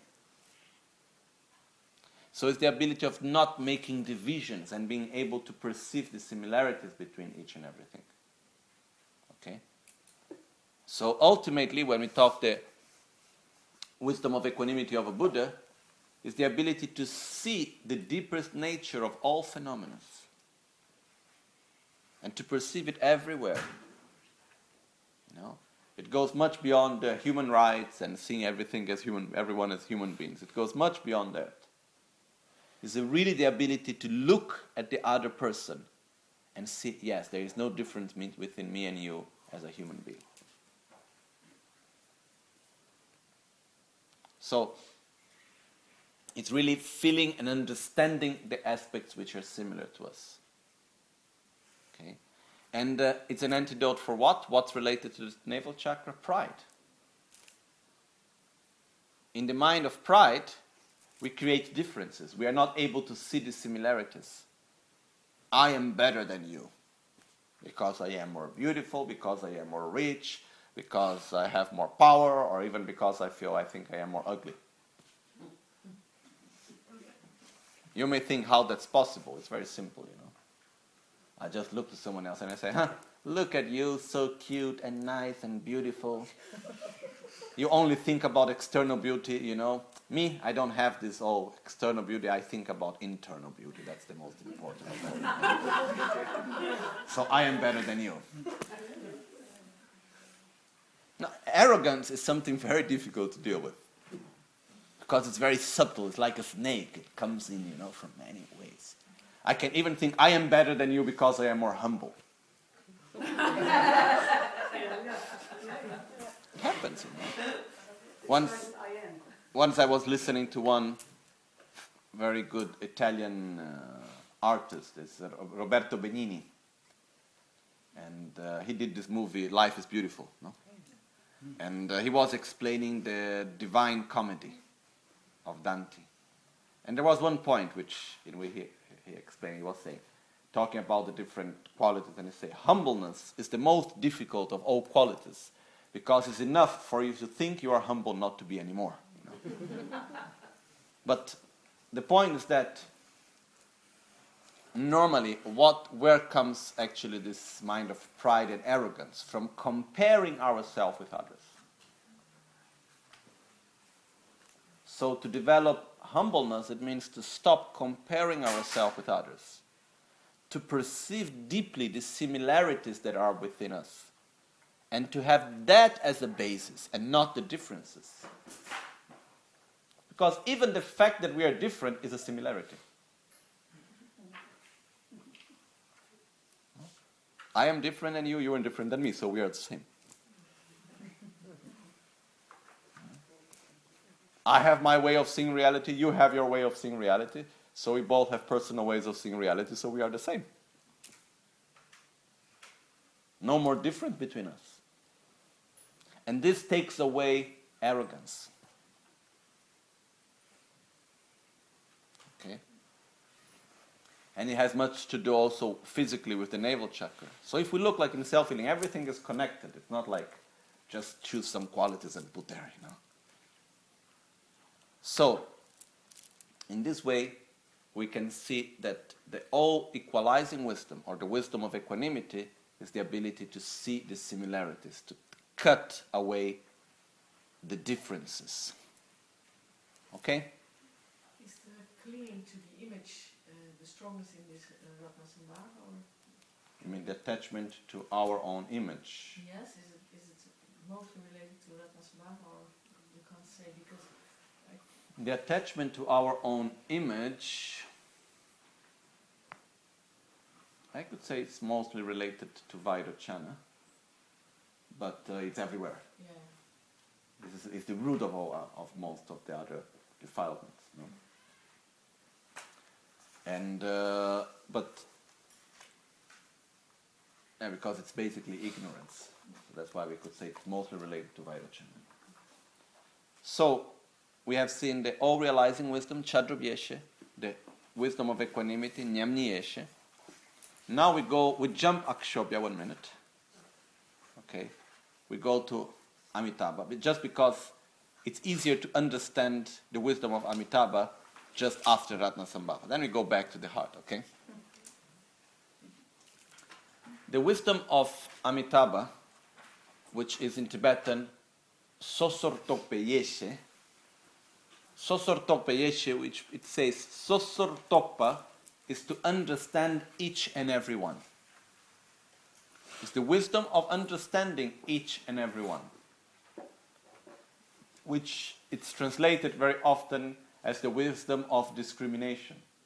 So it's the ability of not making divisions and being able to perceive the similarities between each and everything. Okay? So ultimately, when we talk the wisdom of equanimity of a Buddha, is the ability to see the deepest nature of all phenomena and to perceive it everywhere. You know, it goes much beyond uh, human rights and seeing everything as human, everyone as human beings. It goes much beyond that. is really the ability to look at the other person and see, yes, there is no difference within me and you as a human being. So, it's really feeling and understanding the aspects which are similar to us. Okay? And uh, it's an antidote for what? What's related to the navel chakra? Pride. In the mind of pride, we create differences. We are not able to see the similarities. I am better than you because I am more beautiful, because I am more rich, because I have more power, or even because I feel I think I am more ugly. You may think how that's possible. It's very simple, you know. I just look to someone else and I say, huh, look at you, so cute and nice and beautiful. You only think about external beauty, you know. Me, I don't have this all external beauty. I think about internal beauty. That's the most important. So I am better than you. Now, arrogance is something very difficult to deal with. Because it's very subtle. It's like a snake. It comes in, you know, from many ways. I can even think I am better than you because I am more humble. It happens, you know. Once, once I was listening to one very good Italian uh, artist, it's uh, Roberto Benigni. And uh, he did this movie, Life is Beautiful, no? And uh, he was explaining the Divine Comedy of Dante. And there was one point which in which he, he explained, he was saying, talking about the different qualities, and he said, humbleness is the most difficult of all qualities, because it's enough for you to think you are humble not to be anymore. You know? But the point is that normally what where comes actually this mind of pride and arrogance? From comparing ourselves with others. So to develop humbleness, it means to stop comparing ourselves with others, to perceive deeply the similarities that are within us, and to have that as a basis and not the differences. Because even the fact that we are different is a similarity. I am different than you, you are different than me, so we are the same. I have my way of seeing reality, you have your way of seeing reality, so we both have personal ways of seeing reality, so we are the same. No more difference between us. And this takes away arrogance. Okay? And it has much to do also physically with the navel chakra. So if we look like in self-healing, everything is connected. It's not like just choose some qualities and put there, you know. So, in this way, we can see that the all-equalizing wisdom, or the wisdom of equanimity, is the ability to see the similarities, to cut away the differences. Okay? Is the clinging to the image uh, the strongest in this uh, Ratnasambhava? Or? You mean the attachment to our own image? Yes, is it, is it mostly related to Ratnasambhava, or you can't say because... The attachment to our own image, I could say it's mostly related to Vairochana, but uh, it's everywhere. Yeah. This is, is the root of all, of most of the other defilements. No? And uh, but yeah, because it's basically ignorance, so that's why we could say it's mostly related to Vairochana. So. We have seen the all-realizing wisdom, Chadrobhyeshe, the wisdom of equanimity, Nyamniyeshe. Now we go, we jump Akshobhya one minute. Okay. We go to Amitabha, but just because it's easier to understand the wisdom of Amitabha just after Ratnasambhava. Then we go back to the heart, okay? The wisdom of Amitabha, which is in Tibetan, Sosortopeyeshe, Sosortopeyeshe, which it says, Sosortopa is to understand each and every one. It's the wisdom of understanding each and every one, which it's translated very often as the wisdom of discrimination.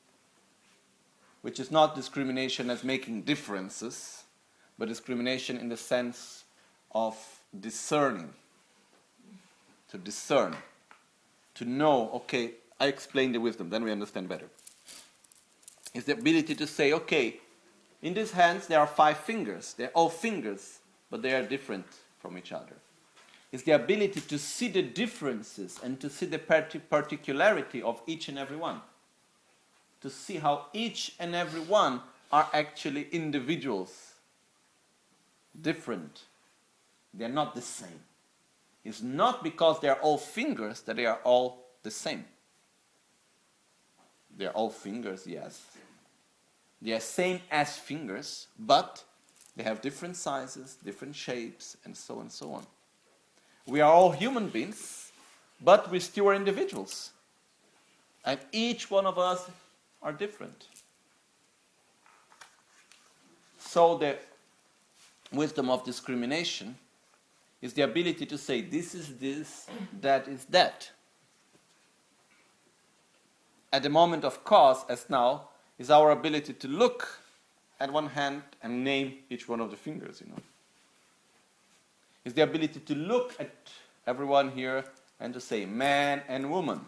which is not discrimination as making differences, but discrimination in the sense of discerning. To discern. To know, okay, I explain the wisdom, then we understand better. It's the ability to say, okay, in these hands there are five fingers. They're all fingers, but they are different from each other. It's the ability to see the differences and to see the particularity of each and every one. To see how each and every one are actually individuals. Different. They're not the same. It's not because they're all fingers that they are all the same. They're all fingers, yes. They are same as fingers, but they have different sizes, different shapes, and so on and so on. We are all human beings, but we still are individuals. And each one of us are different. So the wisdom of discrimination is the ability to say, this is this, that is that. At the moment of cause, as now, is our ability to look at one hand and name each one of the fingers, you know. It's the ability to look at everyone here and to say man and woman,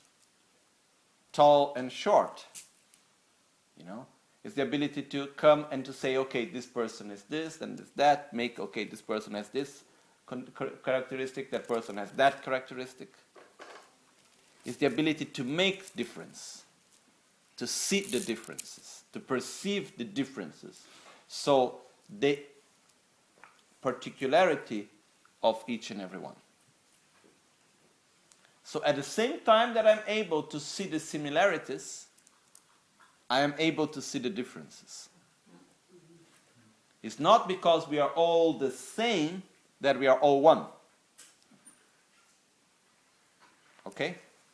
tall and short, you know. It's the ability to come and to say, okay, this person is this and this that, make, okay, this person has this characteristic, that person has that characteristic. It's the ability to make difference, to see the differences, to perceive the differences. So the particularity of each and every one. So at the same time that I'm able to see the similarities, I am able to see the differences. It's not because we are all the same that we are all one. Okay?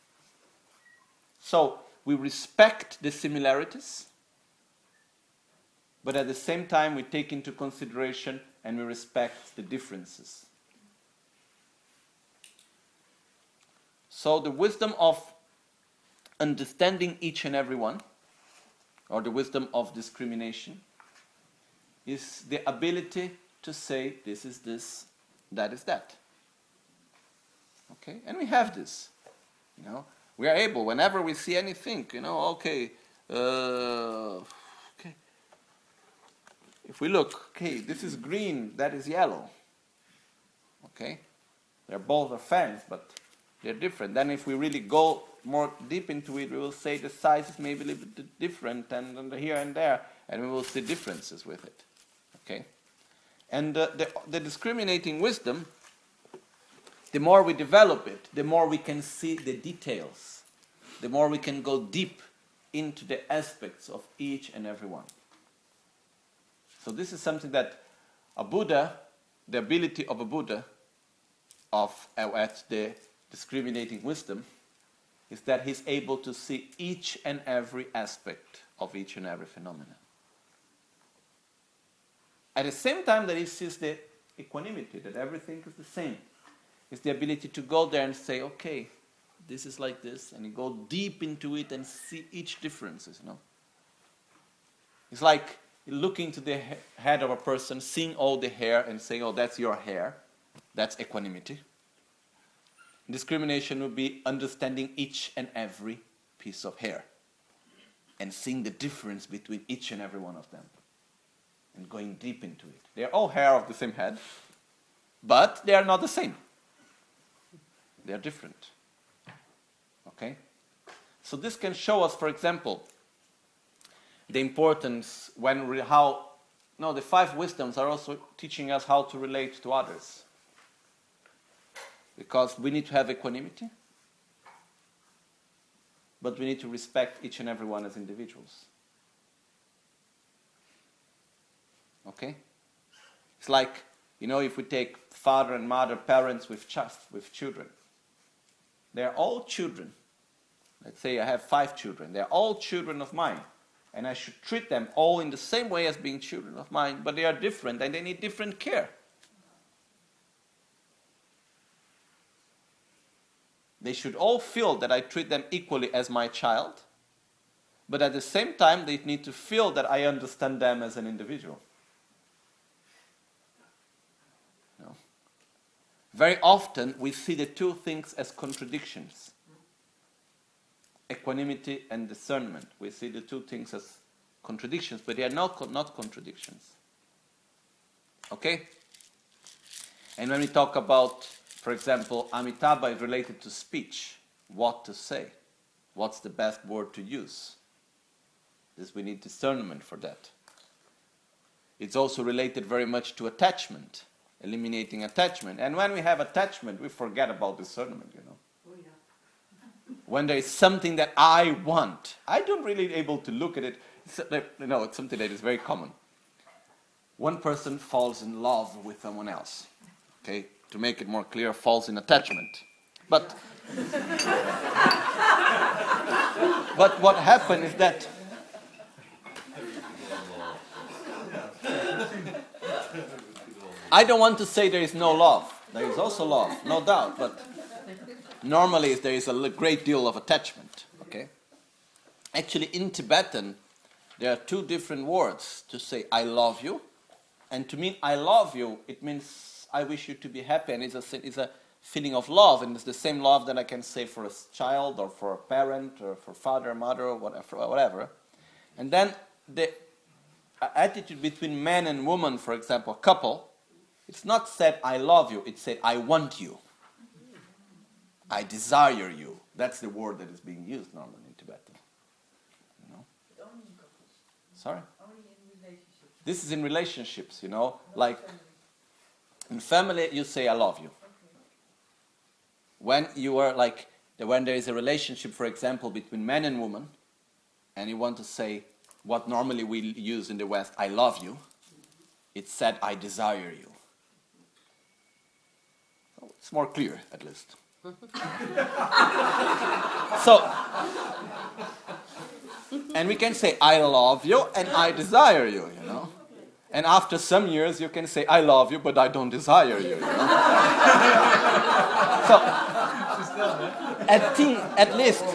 So we respect the similarities, but at the same time we take into consideration and we respect the differences. So the wisdom of understanding each and every one, or the wisdom of discrimination, is the ability to say this is this, that is that. Okay? And we have this. You know, we are able, whenever we see anything, you know, okay, uh, okay. If we look, okay, this is green, that is yellow. Okay? They're both are fans, but they're different. Then if we really go more deep into it, we will say the size is maybe a little bit different and, and here and there, and we will see differences with it. Okay? And uh, the, the discriminating wisdom, the more we develop it, the more we can see the details, the more we can go deep into the aspects of each and every one. So this is something that a Buddha, the ability of a Buddha, of uh, at the discriminating wisdom, is that he's able to see each and every aspect of each and every phenomenon. At the same time that he sees the equanimity, that everything is the same, is the ability to go there and say, okay, this is like this, and you go deep into it and see each differences, you know. It's like looking to the he- head of a person, seeing all the hair and saying, oh, that's your hair. That's equanimity. Discrimination would be understanding each and every piece of hair and seeing the difference between each and every one of them and going deep into it. They are all hair of the same head, but they are not the same. They are different. Okay? So this can show us, for example, the importance when re- how no the five wisdoms are also teaching us how to relate to others. Because we need to have equanimity, but we need to respect each and every one as individuals. Okay? It's like, you know, if we take father and mother, parents with ch- with children. They're all children. Let's say I have five children. They're all children of mine. And I should treat them all in the same way as being children of mine, but they are different and they need different care. They should all feel that I treat them equally as my child, but at the same time they need to feel that I understand them as an individual. No. Very often we see the two things as contradictions. Equanimity and discernment. We see the two things as contradictions, but they are not, not contradictions. Okay? And when we talk about, for example, Amitabha is related to speech, what to say, what's the best word to use. This we need discernment for that. It's also related very much to attachment, eliminating attachment. And when we have attachment, we forget about discernment, you know. Oh, yeah. When there is something that I want, I don't really able to look at it. It's, you know, it's something that is very common. One person falls in love with someone else. Okay, to make it more clear, falls in attachment. But but what happened is that I don't want to say there is no love. There is also love, no doubt. But normally there is a great deal of attachment. Okay. Actually, in Tibetan, there are two different words to say "I love you," and to mean "I love you," it means I wish you to be happy, and it's a, it's a feeling of love, and it's the same love that I can say for a child, or for a parent, or for father, mother, or whatever. whatever. And then the attitude between man and woman, for example, a couple, it's not said "I love you," it's said "I want you." I desire you. That's the word that is being used normally in Tibetan. You know? But only in couples. Sorry? Only in relationships. This is in relationships, you know, Not like family. in family you say "I love you." Okay. When you are like, when there is a relationship, for example, between man and woman, and you want to say what normally we use in the West, "I love you," it's said "I desire you." So it's more clear, at least. So, and we can say "I love you" and "I desire you," you know. And after some years, you can say "I love you," but "I don't desire you," you know. So, at, think, at least,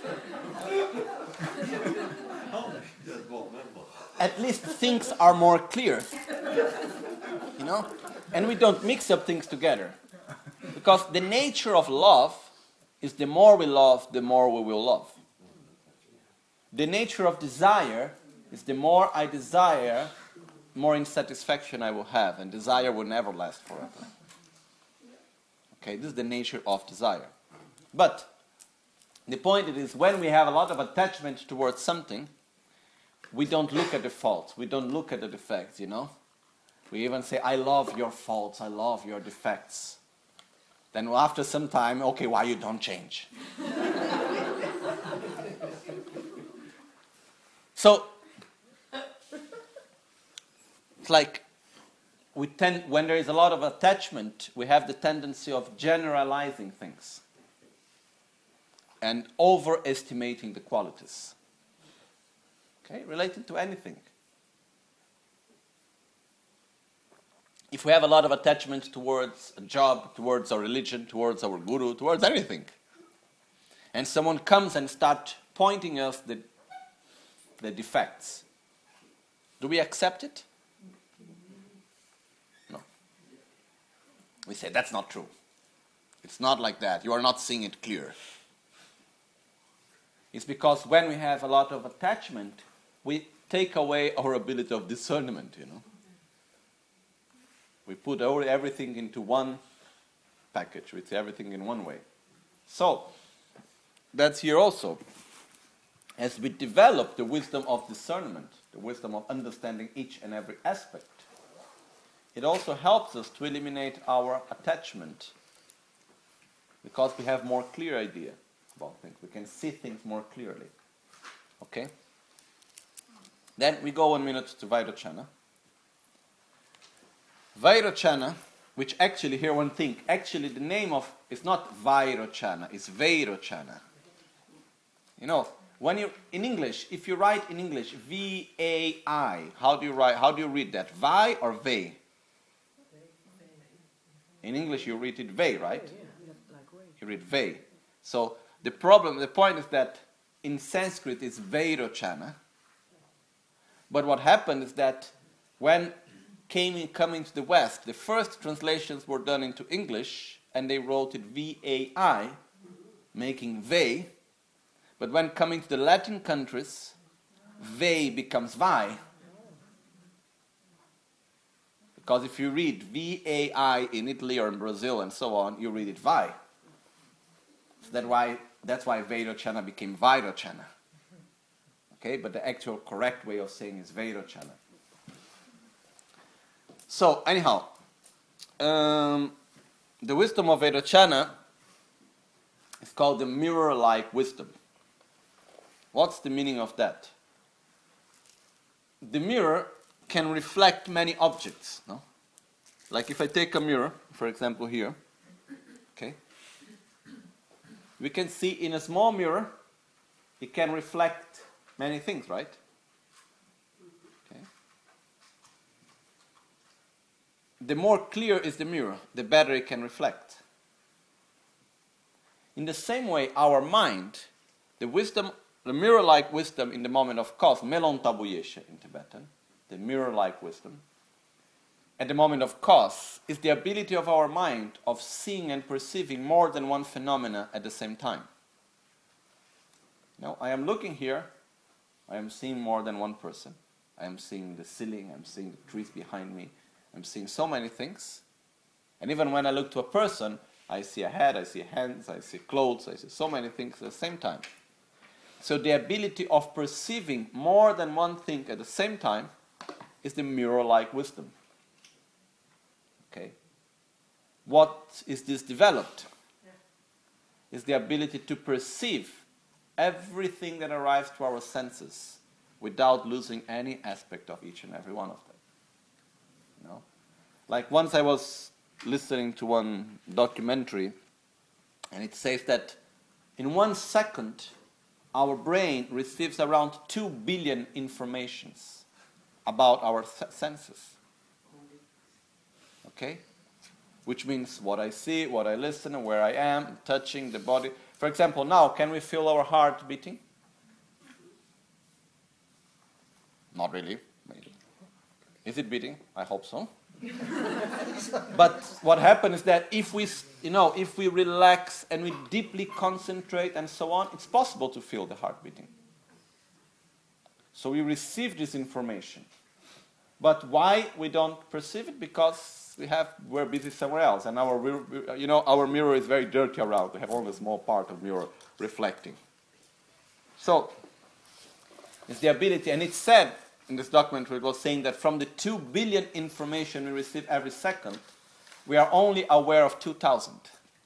at least things are more clear, you know. And we don't mix up things together, because the nature of love is the more we love, the more we will love. The nature of desire is the more I desire, more insatisfaction I will have, and desire will never last forever. Okay, this is the nature of desire. But the point is, when we have a lot of attachment towards something, we don't look at the faults, we don't look at the defects, you know. We even say, "I love your faults, I love your defects." Then after some time, okay, why you don't change? So, it's like we tend, when there is a lot of attachment, we have the tendency of generalizing things and overestimating the qualities. Okay, related to anything. If we have a lot of attachment towards a job, towards our religion, towards our guru, towards anything, and someone comes and starts pointing us the, the defects, do we accept it? No. We say, "That's not true. It's not like that. You are not seeing it clear." It's because when we have a lot of attachment, we take away our ability of discernment, you know. We put everything into one package. We say everything in one way. So, that's here also. As we develop the wisdom of discernment, the wisdom of understanding each and every aspect, it also helps us to eliminate our attachment, because we have more clear idea about things. We can see things more clearly. Okay? Then we go one minute to Vairocana. Vairocana, which actually, here one thing, actually the name of, it's not Vairocana, it's Vairocana. You know, when you, in English, if you write in English, V A I, how do you write, how do you read that? Vai or Ve? In English you read it Ve, right? You read Ve. So the problem, the point is that in Sanskrit is Vairochana. But what happened is that when came in, coming to the West, the first translations were done into English, and they wrote it V A I, making Ve. But when coming to the Latin countries, Ve becomes Vi. Because if you read V A I in Italy or in Brazil and so on, you read it Vi. So that why, that's why Vairochana became Vairochana. Okay, but the actual correct way of saying is Vairochana. So, anyhow, um, the wisdom of Vairochana is called the mirror-like wisdom. What's the meaning of that? The mirror can reflect many objects, no? Like if I take a mirror, for example here, okay, we can see in a small mirror, it can reflect many things, right? Okay. The more clear is the mirror, the better it can reflect. In the same way, our mind, the wisdom, the mirror-like wisdom in the moment of cause, melon tabuyeshe in Tibetan, the mirror-like wisdom, at the moment of cause, is the ability of our mind of seeing and perceiving more than one phenomena at the same time. Now, I am looking here, I am seeing more than one person. I am seeing the ceiling, I'm seeing the trees behind me, I'm seeing so many things. And even when I look to a person, I see a head, I see hands, I see clothes, I see so many things at the same time. So the ability of perceiving more than one thing at the same time is the mirror-like wisdom. Okay. What is this developed? Yeah. Is the ability to perceive everything that arrives to our senses without losing any aspect of each and every one of them. You know? Like once I was listening to one documentary, and it says that in one second our brain receives around two billion informations about our th- senses. Okay? Which means what I see, what I listen, and where I am, touching the body. For example, now, can we feel our heart beating? Not really, maybe. Is it beating? I hope so. But what happens is that if we, you know, if we relax and we deeply concentrate and so on, it's possible to feel the heart beating. So we receive this information. But why we don't perceive it? Because we have we're busy somewhere else, and our you know our mirror is very dirty around. We have only a small part of mirror reflecting. So it's the ability, and it's said in this document it was saying that from the two billion information we receive every second, we are only aware of two thousand.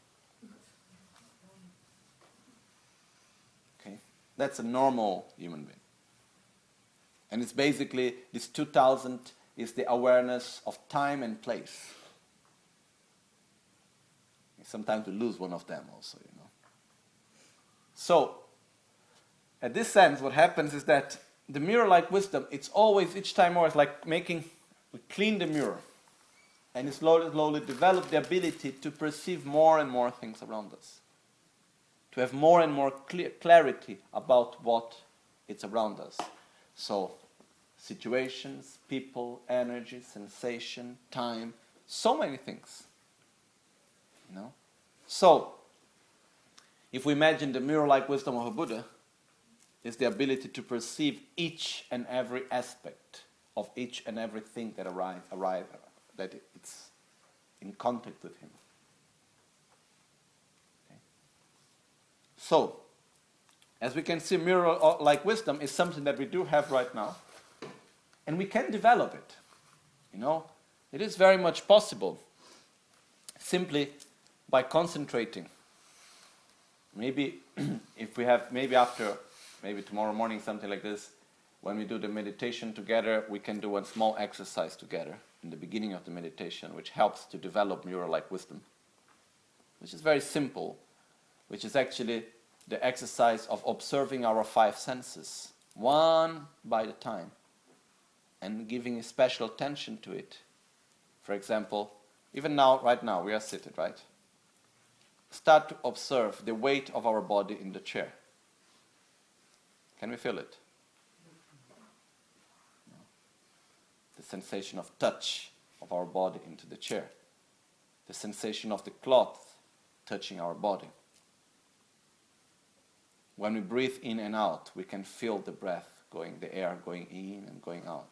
Okay, that's a normal human being. And it's basically, this two thousand is the awareness of time and place. Sometimes we lose one of them also, you know. So, at this sense, what happens is that the mirror-like wisdom, it's always, each time more, it's like making, we clean the mirror. And we slowly, slowly develop the ability to perceive more and more things around us. To have more and more clear, clarity about what is around us. So, situations, people, energy, sensation, time, so many things. You know? So, if we imagine the mirror-like wisdom of a Buddha, is the ability to perceive each and every aspect of each and everything that arrive, arrive, that it's in contact with him. Okay. So, as we can see, mirror-like wisdom is something that we do have right now. And we can develop it. You know, it is very much possible simply by concentrating. Maybe if we have, maybe after, maybe tomorrow morning, something like this, when we do the meditation together, we can do a small exercise together in the beginning of the meditation, which helps to develop mirror-like wisdom, which is very simple, which is actually the exercise of observing our five senses, one by the time, and giving a special attention to it. For example, even now, right now, we are seated, right? Start to observe the weight of our body in the chair. Can we feel it? No. The sensation of touch of our body into the chair. The sensation of the cloth touching our body. When we breathe in and out, we can feel the breath going, the air going in and going out.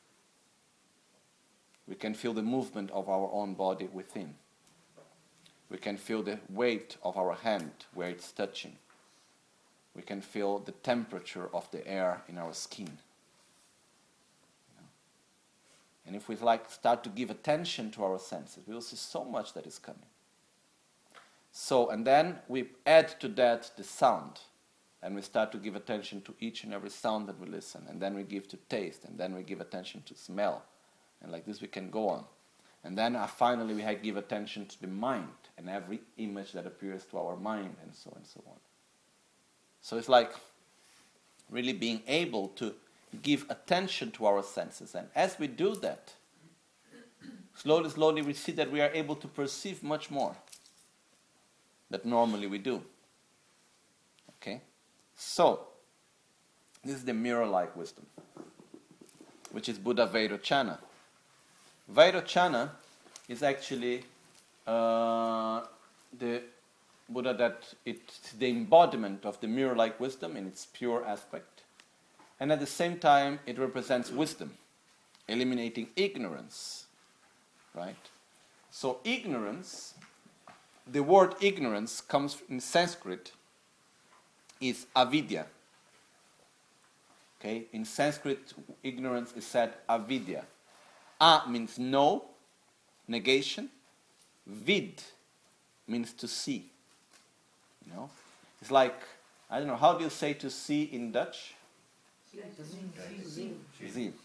We can feel the movement of our own body within. We can feel the weight of our hand where it's touching. We can feel the temperature of the air in our skin. You know? And if we like start to give attention to our senses, we will see so much that is coming. So, and then we add to that the sound. And we start to give attention to each and every sound that we listen. And then we give to taste. And then we give attention to smell. And like this we can go on. And then uh, finally we give attention to the mind and every image that appears to our mind and so on and so on. So it's like really being able to give attention to our senses. And as we do that, slowly, slowly we see that we are able to perceive much more that normally we do. Okay? So, this is the mirror-like wisdom, which is Buddha Vairochana. Vairochana is actually uh, the Buddha that it's the embodiment of the mirror-like wisdom in its pure aspect. And at the same time, it represents wisdom, eliminating ignorance. Right? So ignorance, the word ignorance comes in Sanskrit, is avidya. Okay? In Sanskrit, ignorance is said avidya. A means no, negation. Vid means to see. You know, it's like, I don't know, how do you say to see in Dutch? Zien. Okay.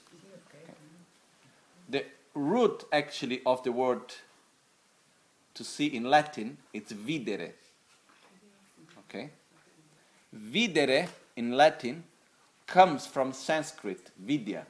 The root actually of the word to see in Latin, it's videre. Okay? Videre in Latin comes from Sanskrit, vidya.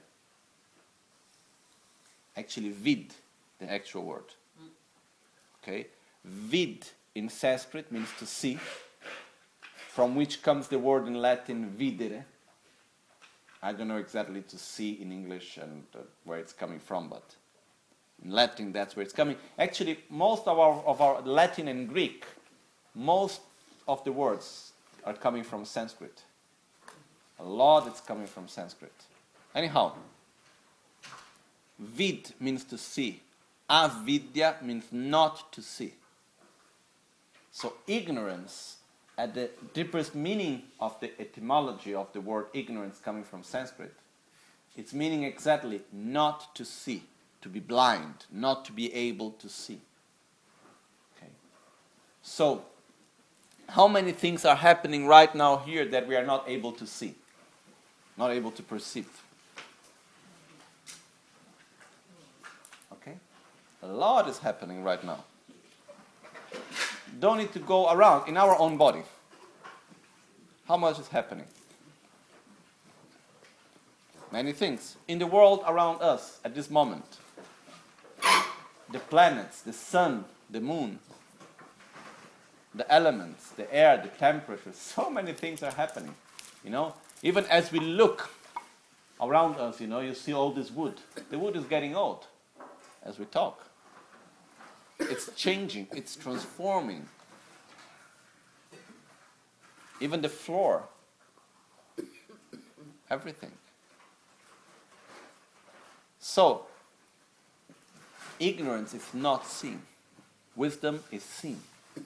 Actually, vid, the actual word. Okay? Vid in Sanskrit means to see, from which comes the word in Latin videre. I don't know exactly to see in English and uh, where it's coming from, but in Latin that's where it's coming. Actually, most of our, of our Latin and Greek, most of the words are coming from Sanskrit. A lot is coming from Sanskrit. Anyhow, vid means to see. Avidya means not to see. So ignorance, at the deepest meaning of the etymology of the word ignorance coming from Sanskrit, its meaning exactly not to see, to be blind, not to be able to see. Okay. So, how many things are happening right now here that we are not able to see, not able to perceive? Okay? A lot is happening right now. Don't need to go around in our own body. How much is happening? Many things. In the world around us at this moment. The planets, the sun, the moon, the elements, the air, the temperature. So many things are happening. You know, even as we look around us, you know, you see all this wood. The wood is getting old as we talk. It's changing, it's transforming. Even the floor. Everything. So, ignorance is not seen. Wisdom is seen.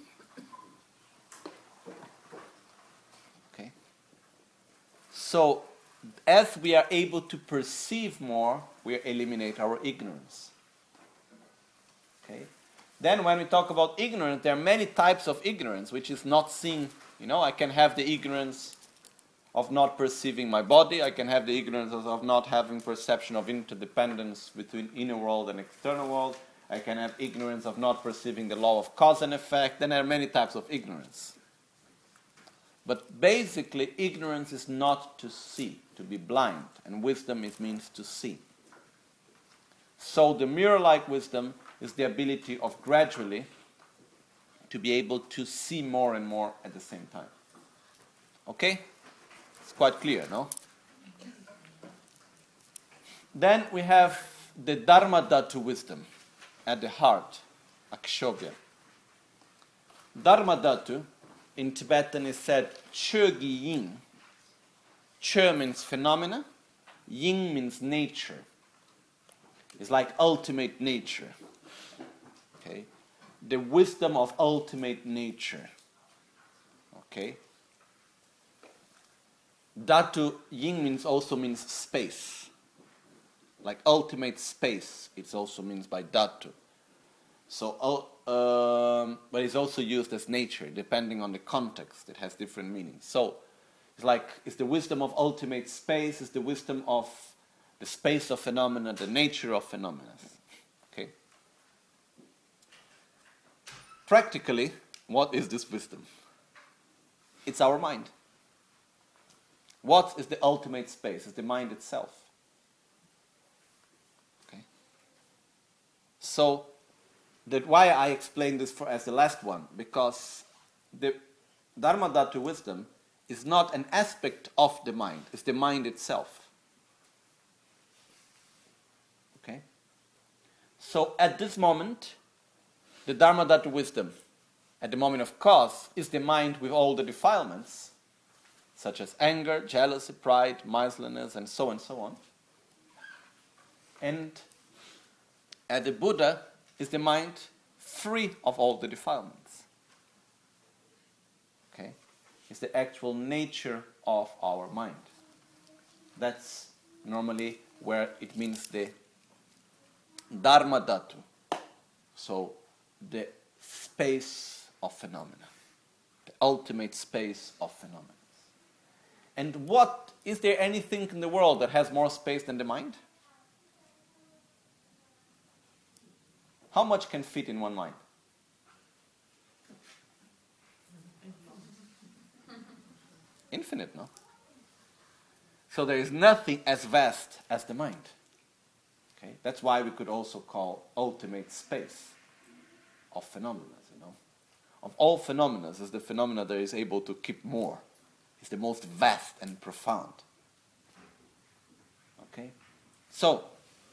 Okay? So, as we are able to perceive more, we eliminate our ignorance. Okay? Then when we talk about ignorance, there are many types of ignorance, which is not seen. You know, I can have the ignorance of not perceiving my body. I can have the ignorance of not having perception of interdependence between inner world and external world. I can have ignorance of not perceiving the law of cause and effect. Then there are many types of ignorance. But basically, ignorance is not to see, to be blind. And wisdom is means to see. So the mirror-like wisdom is the ability of gradually to be able to see more and more at the same time. Okay? It's quite clear, no? Then we have the Dharma Dhatu wisdom at the heart, Akshobhya. Dharma Dhatu in Tibetan is said Chögi Yin. Chö means phenomena, Yin means nature. It's like ultimate nature. Okay? The wisdom of ultimate nature. Okay? Dhatu Yin means also means space. Like ultimate space, it also means by Dhatu. So, um, but it's also used as nature, depending on the context. It has different meanings. So, it's like it's the wisdom of ultimate space. It's the wisdom of the space of phenomena, the nature of phenomena. Okay. Practically, what is this wisdom? It's our mind. What is the ultimate space? It's the mind itself. Okay. So, that why I explain this for as the last one, because the Dharma Dhatu wisdom is not an aspect of the mind, it's the mind itself. Okay? So at this moment, the Dharma Dhatu wisdom, at the moment of cause, is the mind with all the defilements, such as anger, jealousy, pride, miserliness, and so on and so on. And at the Buddha is the mind free of all the defilements. Okay? It's the actual nature of our mind. That's normally where it means the Dharma Dhatu. So, the space of phenomena. The ultimate space of phenomena. And what, is there anything in the world that has more space than the mind? How much can fit in one mind? Infinite, no? So there is nothing as vast as the mind. Okay? That's why we could also call ultimate space of phenomena, you know. Of all phenomena, is the phenomena that is able to keep more. It's the most vast and profound. Okay? So,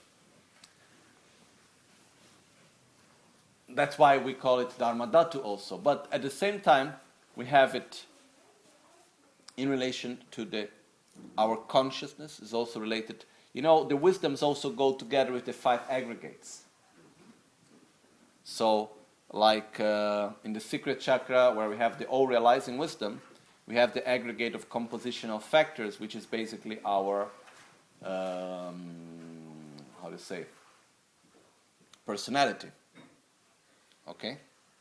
that's why we call it Dharma Dhatu also. But at the same time, we have it in relation to the our consciousness is also related. You know, the wisdoms also go together with the five aggregates. So, like uh, in the secret chakra, where we have the all-realizing wisdom, we have the aggregate of compositional factors, which is basically our, um, how to say, personality. Okay?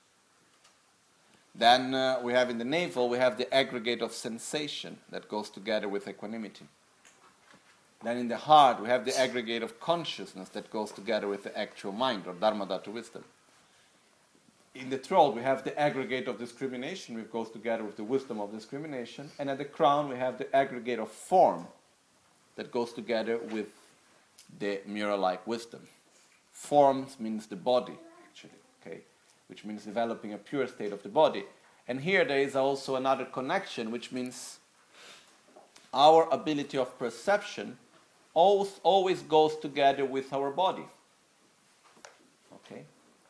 Then uh, we have in the navel, we have the aggregate of sensation that goes together with equanimity. Then in the heart, we have the aggregate of consciousness that goes together with the actual mind, or Dharma Dhatu wisdom. In the throat, we have the aggregate of discrimination, which goes together with the wisdom of discrimination. And at the crown, we have the aggregate of form that goes together with the mirror-like wisdom. Forms means the body, actually, okay, which means developing a pure state of the body. And here there is also another connection, which means our ability of perception always, always goes together with our body. Okay?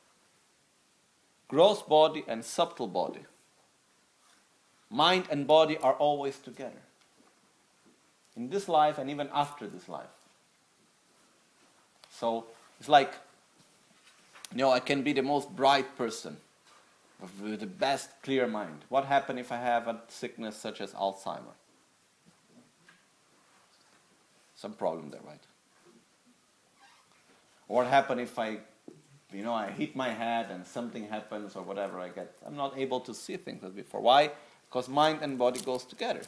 Gross body and subtle body. Mind and body are always together. In this life and even after this life. So, it's like, you know, I can be the most bright person with the best clear mind. What happens if I have a sickness such as Alzheimer? Some problem there, right? Or what happens if I, you know, I hit my head and something happens or whatever I get? I'm not able to see things as before. Why? Because mind and body goes together.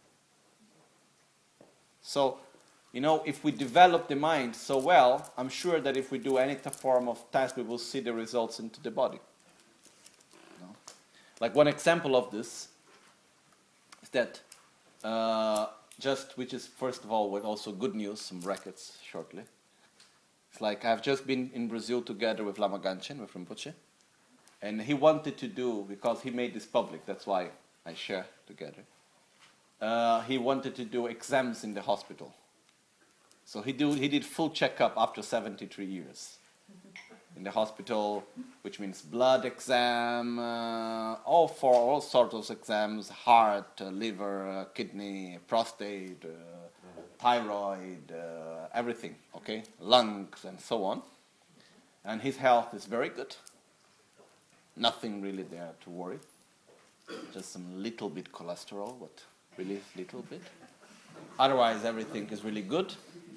So, you know, if we develop the mind so well, I'm sure that if we do any form of task, we will see the results into the body. You know? Like one example of this is that, uh, just, which is first of all with also good news, some brackets shortly. It's like I've just been in Brazil together with Lama Ganchen, with Rinpoche, and he wanted to do, because he made this public, that's why I share together, uh, he wanted to do exams in the hospital. So he, do, he did full checkup after seventy-three years in the hospital, which means blood exam, uh, all for all sorts of exams, heart, uh, liver, uh, kidney, prostate, uh, thyroid, uh, everything, okay, lungs and so on. And his health is very good. Nothing really there to worry. Just some little bit cholesterol, but really little bit. Otherwise, everything is really good.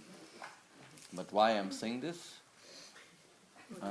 But why I'm saying this? Uh,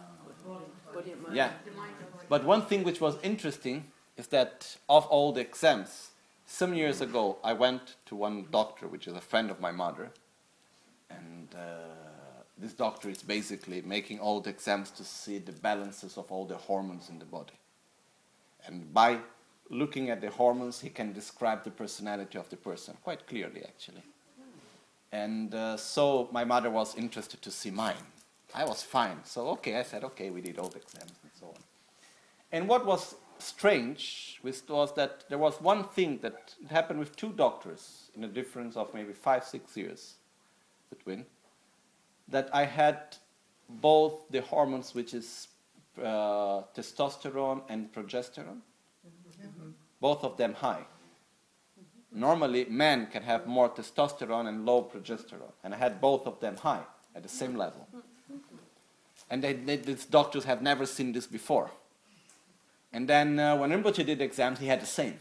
yeah. But one thing which was interesting is that of all the exams, some years ago, I went to one doctor, which is a friend of my mother, and uh, this doctor is basically making all the exams to see the balances of all the hormones in the body. And by looking at the hormones, he can describe the personality of the person, quite clearly, actually. And uh, so my mother was interested to see mine. I was fine. So, okay, I said, okay, we did all the exams and so on. And what was strange was that there was one thing that happened with two doctors in a difference of maybe five, six years between, that I had both the hormones, which is uh, testosterone and progesterone, mm-hmm. both of them high. Mm-hmm. Normally, men can have more testosterone and low progesterone, and I had both of them high at the same level. And they, they, these doctors have never seen this before. And then uh, when Rinpoche did exams, he had the same.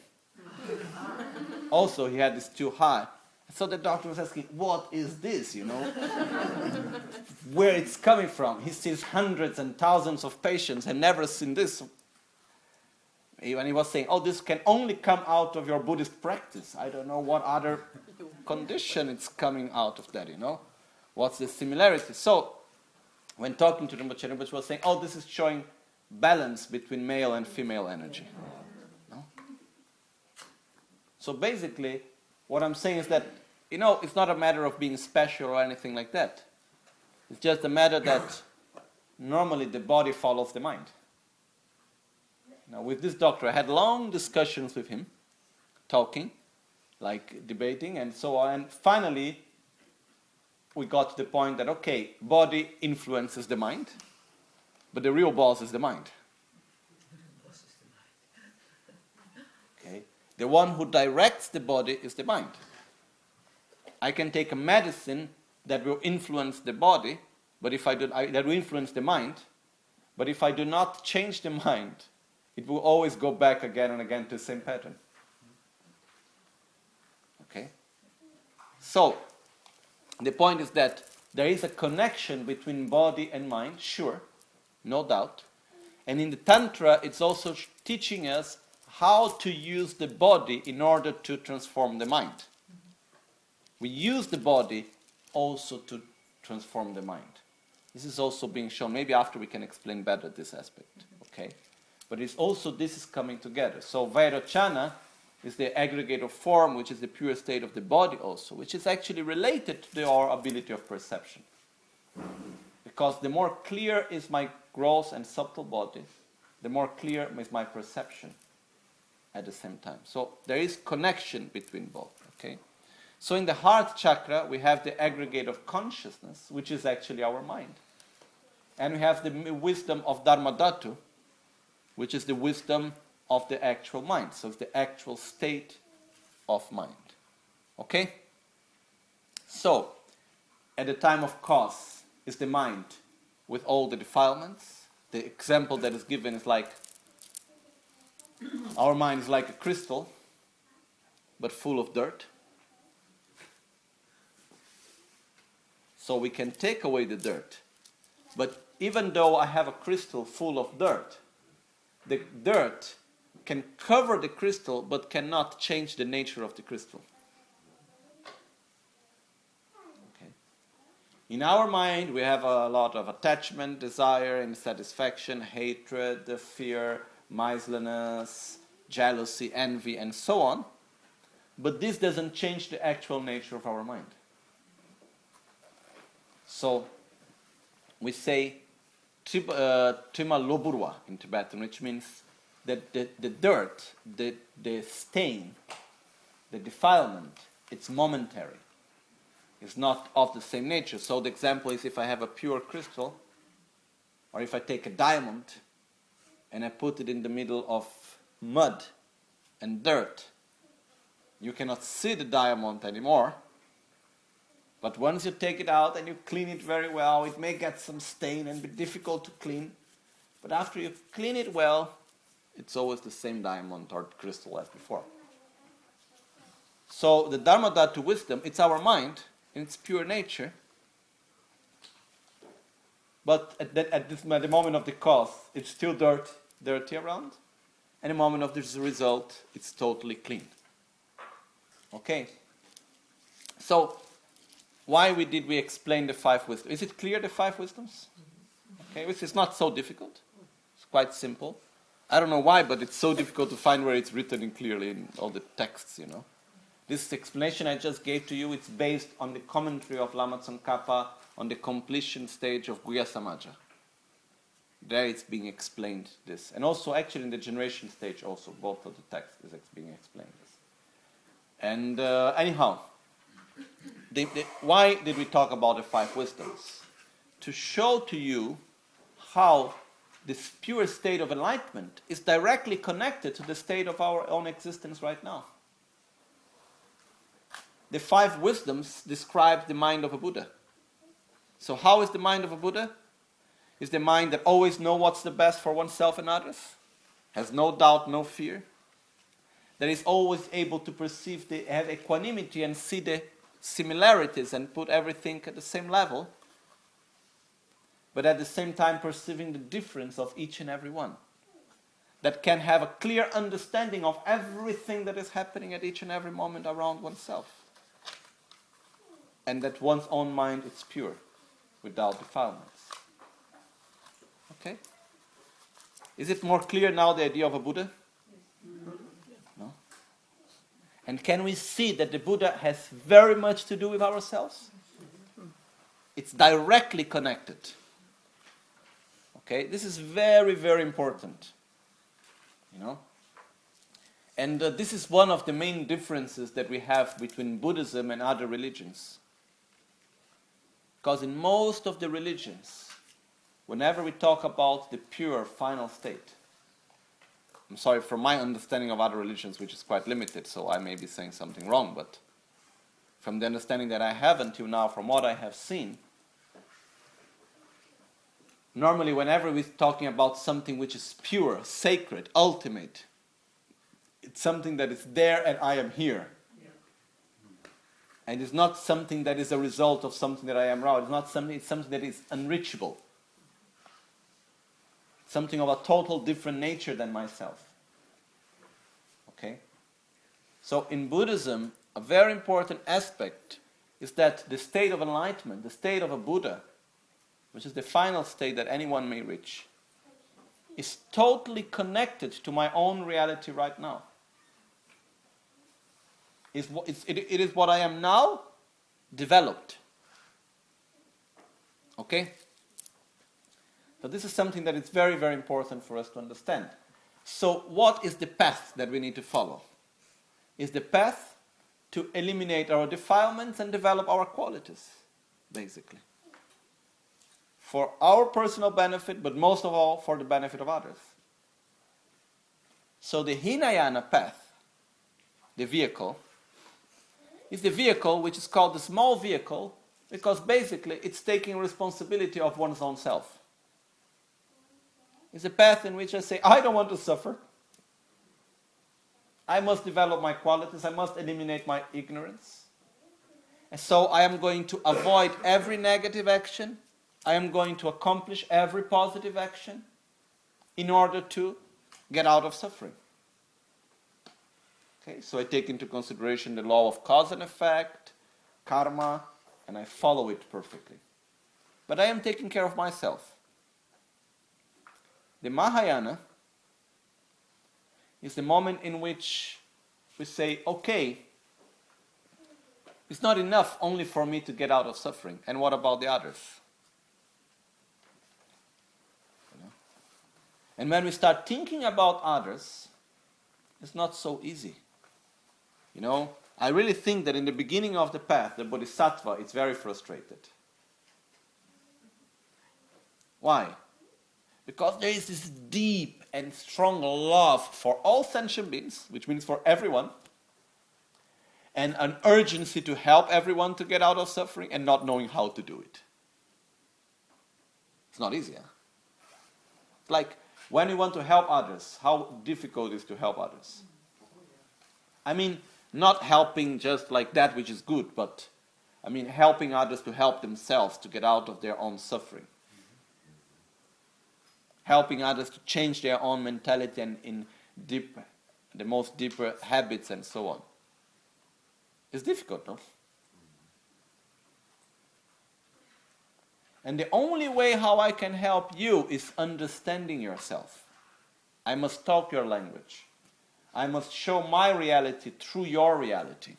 Also, he had this too high. So the doctor was asking, what is this, you know? Where it's coming from. He sees hundreds and thousands of patients and never seen this. And he was saying, oh, this can only come out of your Buddhist practice. I don't know what other condition it's coming out of that, you know? What's the similarity? So, when talking to Rinpoche, Rinpoche was saying, oh, this is showing balance between male and female energy. No? So basically, what I'm saying is that, you know, it's not a matter of being special or anything like that. It's just a matter that normally the body follows the mind. Now, with this doctor, I had long discussions with him, talking, like debating and so on. And finally, we got to the point that, okay, body influences the mind, but the real boss is the mind. Okay? The one who directs the body is the mind. I can take a medicine that will influence the body, but if I do, I, that will influence the mind, but if I do not change the mind, it will always go back again and again to the same pattern. Okay? So, the point is that there is a connection between body and mind, sure, no doubt. And in the Tantra, it's also sh- teaching us how to use the body in order to transform the mind. Mm-hmm. We use the body also to transform the mind. This is also being shown. Maybe after we can explain better this aspect, okay? But it's also, this is coming together. So Vairochana is the aggregator form, which is the pure state of the body also, which is actually related to the, our ability of perception. Because the more clear is my gross and subtle body, the more clear is my perception at the same time. So there is connection between both, okay? So in the heart chakra, we have the aggregate of consciousness, which is actually our mind. And we have the wisdom of Dharmadhatu, which is the wisdom of the actual mind. So it's the actual state of mind. Okay? So, at the time of cause is the mind with all the defilements. The example that is given is like, our mind is like a crystal, but full of dirt. So we can take away the dirt. But even though I have a crystal full of dirt, the dirt can cover the crystal but cannot change the nature of the crystal. Okay. In our mind, we have a lot of attachment, desire, insatisfaction, hatred, fear, miserliness, jealousy, envy, and so on. But this doesn't change the actual nature of our mind. So, we say Tima Loburwa in Tibetan, which means that the, the dirt, the, the stain, the defilement, it's momentary. It's not of the same nature. So the example is if I have a pure crystal, or if I take a diamond and I put it in the middle of mud and dirt, you cannot see the diamond anymore. But once you take it out and you clean it very well, it may get some stain and be difficult to clean. But after you clean it well, it's always the same diamond or crystal as before. So the Dharma Dhatu wisdom, it's our mind in its pure nature. But at, that, at, this, at the moment of the cause, it's still dirt, dirty around. And the moment of the result, it's totally clean. Okay? So, why we did we explain the five wisdoms? Is it clear, the five wisdoms? Okay, which is not so difficult. It's quite simple. I don't know why, but it's so difficult to find where it's written in clearly in all the texts, you know. This explanation I just gave to you, it's based on the commentary of Lama Tsongkhapa on the completion stage of Guhya Samaja. There it's being explained, this. And also actually in the generation stage also, both of the texts is being explained this. And uh, anyhow, the, the, why did we talk about the five wisdoms? To show to you how this pure state of enlightenment is directly connected to the state of our own existence right now. The five wisdoms describe the mind of a Buddha. So how is the mind of a Buddha? Is the mind that always knows what's the best for oneself and others, has no doubt, no fear, that is always able to perceive, the, have equanimity and see the similarities and put everything at the same level, but at the same time perceiving the difference of each and every one, that can have a clear understanding of everything that is happening at each and every moment around oneself, and that one's own mind is pure, without defilements. Okay? Is it more clear now, the idea of a Buddha? No? And can we see that the Buddha has very much to do with ourselves? It's directly connected. Okay? This is very, very important. You know? And uh, this is one of the main differences that we have between Buddhism and other religions. Because in most of the religions, whenever we talk about the pure final state, I'm sorry for my understanding of other religions, which is quite limited, so I may be saying something wrong, but from the understanding that I have until now, from what I have seen, normally whenever we're talking about something which is pure, sacred, ultimate, it's something that is there and I am here. And it's not something that is a result of something that I am raw. It's not something, it's something that is unreachable. Something of a total different nature than myself. Okay? So in Buddhism, a very important aspect is that the state of enlightenment, the state of a Buddha, which is the final state that anyone may reach, is totally connected to my own reality right now. It's, it's, it, it is what I am now, developed. Okay? So this is something that is very, very important for us to understand. So what is the path that we need to follow? Is the path to eliminate our defilements and develop our qualities, basically. For our personal benefit, but most of all for the benefit of others. So the Hinayana path, the vehicle, is the vehicle which is called the small vehicle because basically it's taking responsibility of one's own self. It's a path in which I say, I don't want to suffer. I must develop my qualities. I must eliminate my ignorance. And so I am going to avoid every negative action. I am going to accomplish every positive action in order to get out of suffering. Okay, so I take into consideration the law of cause and effect, karma, and I follow it perfectly. But I am taking care of myself. The Mahayana is the moment in which we say, okay, it's not enough only for me to get out of suffering. And what about the others? You know? And when we start thinking about others, it's not so easy. You know, I really think that in the beginning of the path, the bodhisattva is very frustrated. Why? Because there is this deep and strong love for all sentient beings, which means for everyone, and an urgency to help everyone to get out of suffering and not knowing how to do it. It's not easy. Huh? Like when you want to help others, how difficult it is to help others. I mean, not helping just like that which is good, but I mean helping others to help themselves to get out of their own suffering. Helping others to change their own mentality and in deep, the most deeper habits and so on. It's difficult, no? And the only way how I can help you is understanding yourself. I must talk your language. I must show my reality through your reality.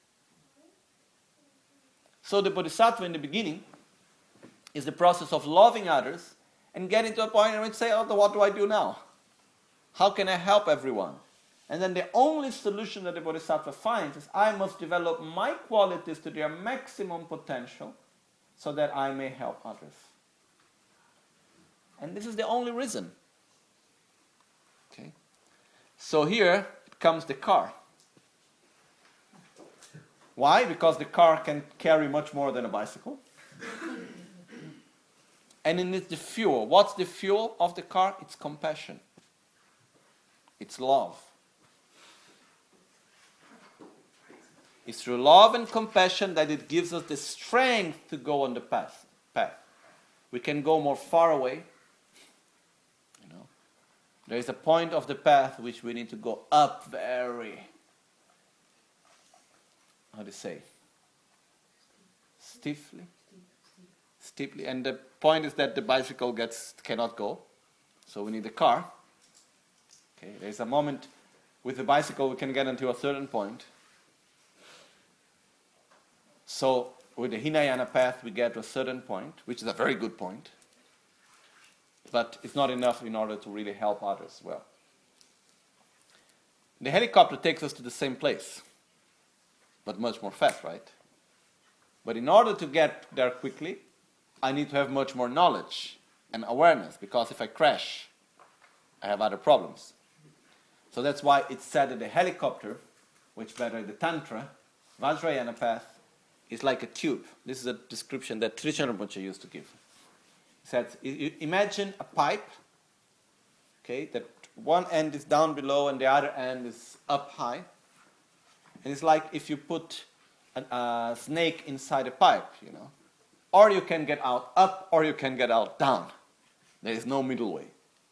So the bodhisattva in the beginning is the process of loving others and getting to a point where we say, oh, what do I do now? How can I help everyone? And then the only solution that the bodhisattva finds is I must develop my qualities to their maximum potential so that I may help others. And this is the only reason. Okay. So here comes the car. Why? Because the car can carry much more than a bicycle. And it needs the fuel. What's the fuel of the car? It's compassion. It's love. It's through love and compassion that it gives us the strength to go on the path. path. We can go more far away. You know, there is a point of the path which we need to go up very, how do you say, stiffly, steeply. And the point is that the bicycle gets cannot go, so we need a car. Okay, there is a moment with the bicycle we can get until a certain point. So with the Hinayana path we get to a certain point, which is a very good point, but it's not enough in order to really help others well. The helicopter takes us to the same place, but much more fast, right? But in order to get there quickly, I need to have much more knowledge and awareness, because if I crash, I have other problems. So that's why it's said that the helicopter, which better the Tantra, Vajrayana path, is like a tube. This is a description that Trijang Rinpoche used to give. He said, imagine a pipe, okay, that one end is down below and the other end is up high. And it's like if you put a, a snake inside a pipe, you know. Or you can get out up, or you can get out down. There is no middle way.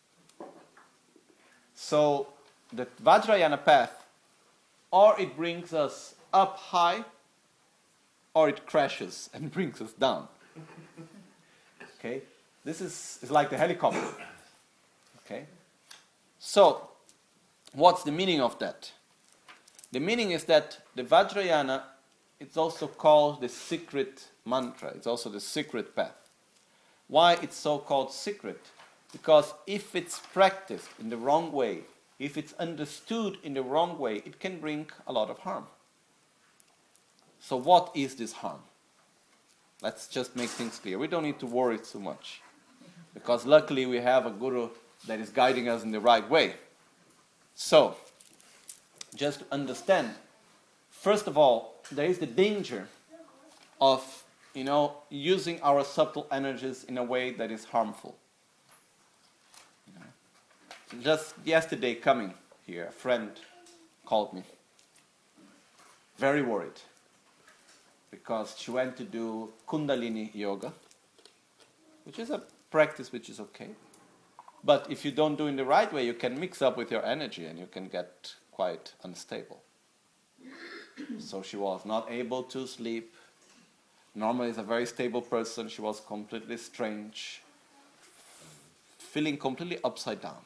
So the Vajrayana path, or it brings us up high, or it crashes and brings us down. Okay? This is, is like the helicopter. Okay? So, what's the meaning of that? The meaning is that the Vajrayana, it's also called the secret mantra. It's also the secret path. Why it's so called secret? Because if it's practiced in the wrong way, if it's understood in the wrong way, it can bring a lot of harm. So what is this harm? Let's just make things clear. We don't need to worry too much, because luckily we have a guru that is guiding us in the right way. So, just to understand, first of all, there is the danger of, you know, using our subtle energies in a way that is harmful. You know, just yesterday coming here, a friend called me, very worried, because she went to do Kundalini yoga, which is a practice which is okay. But if you don't do it in the right way, you can mix up with your energy and you can get quite unstable. So she was not able to sleep. Normally is a very stable person. She was completely strange, feeling completely upside down.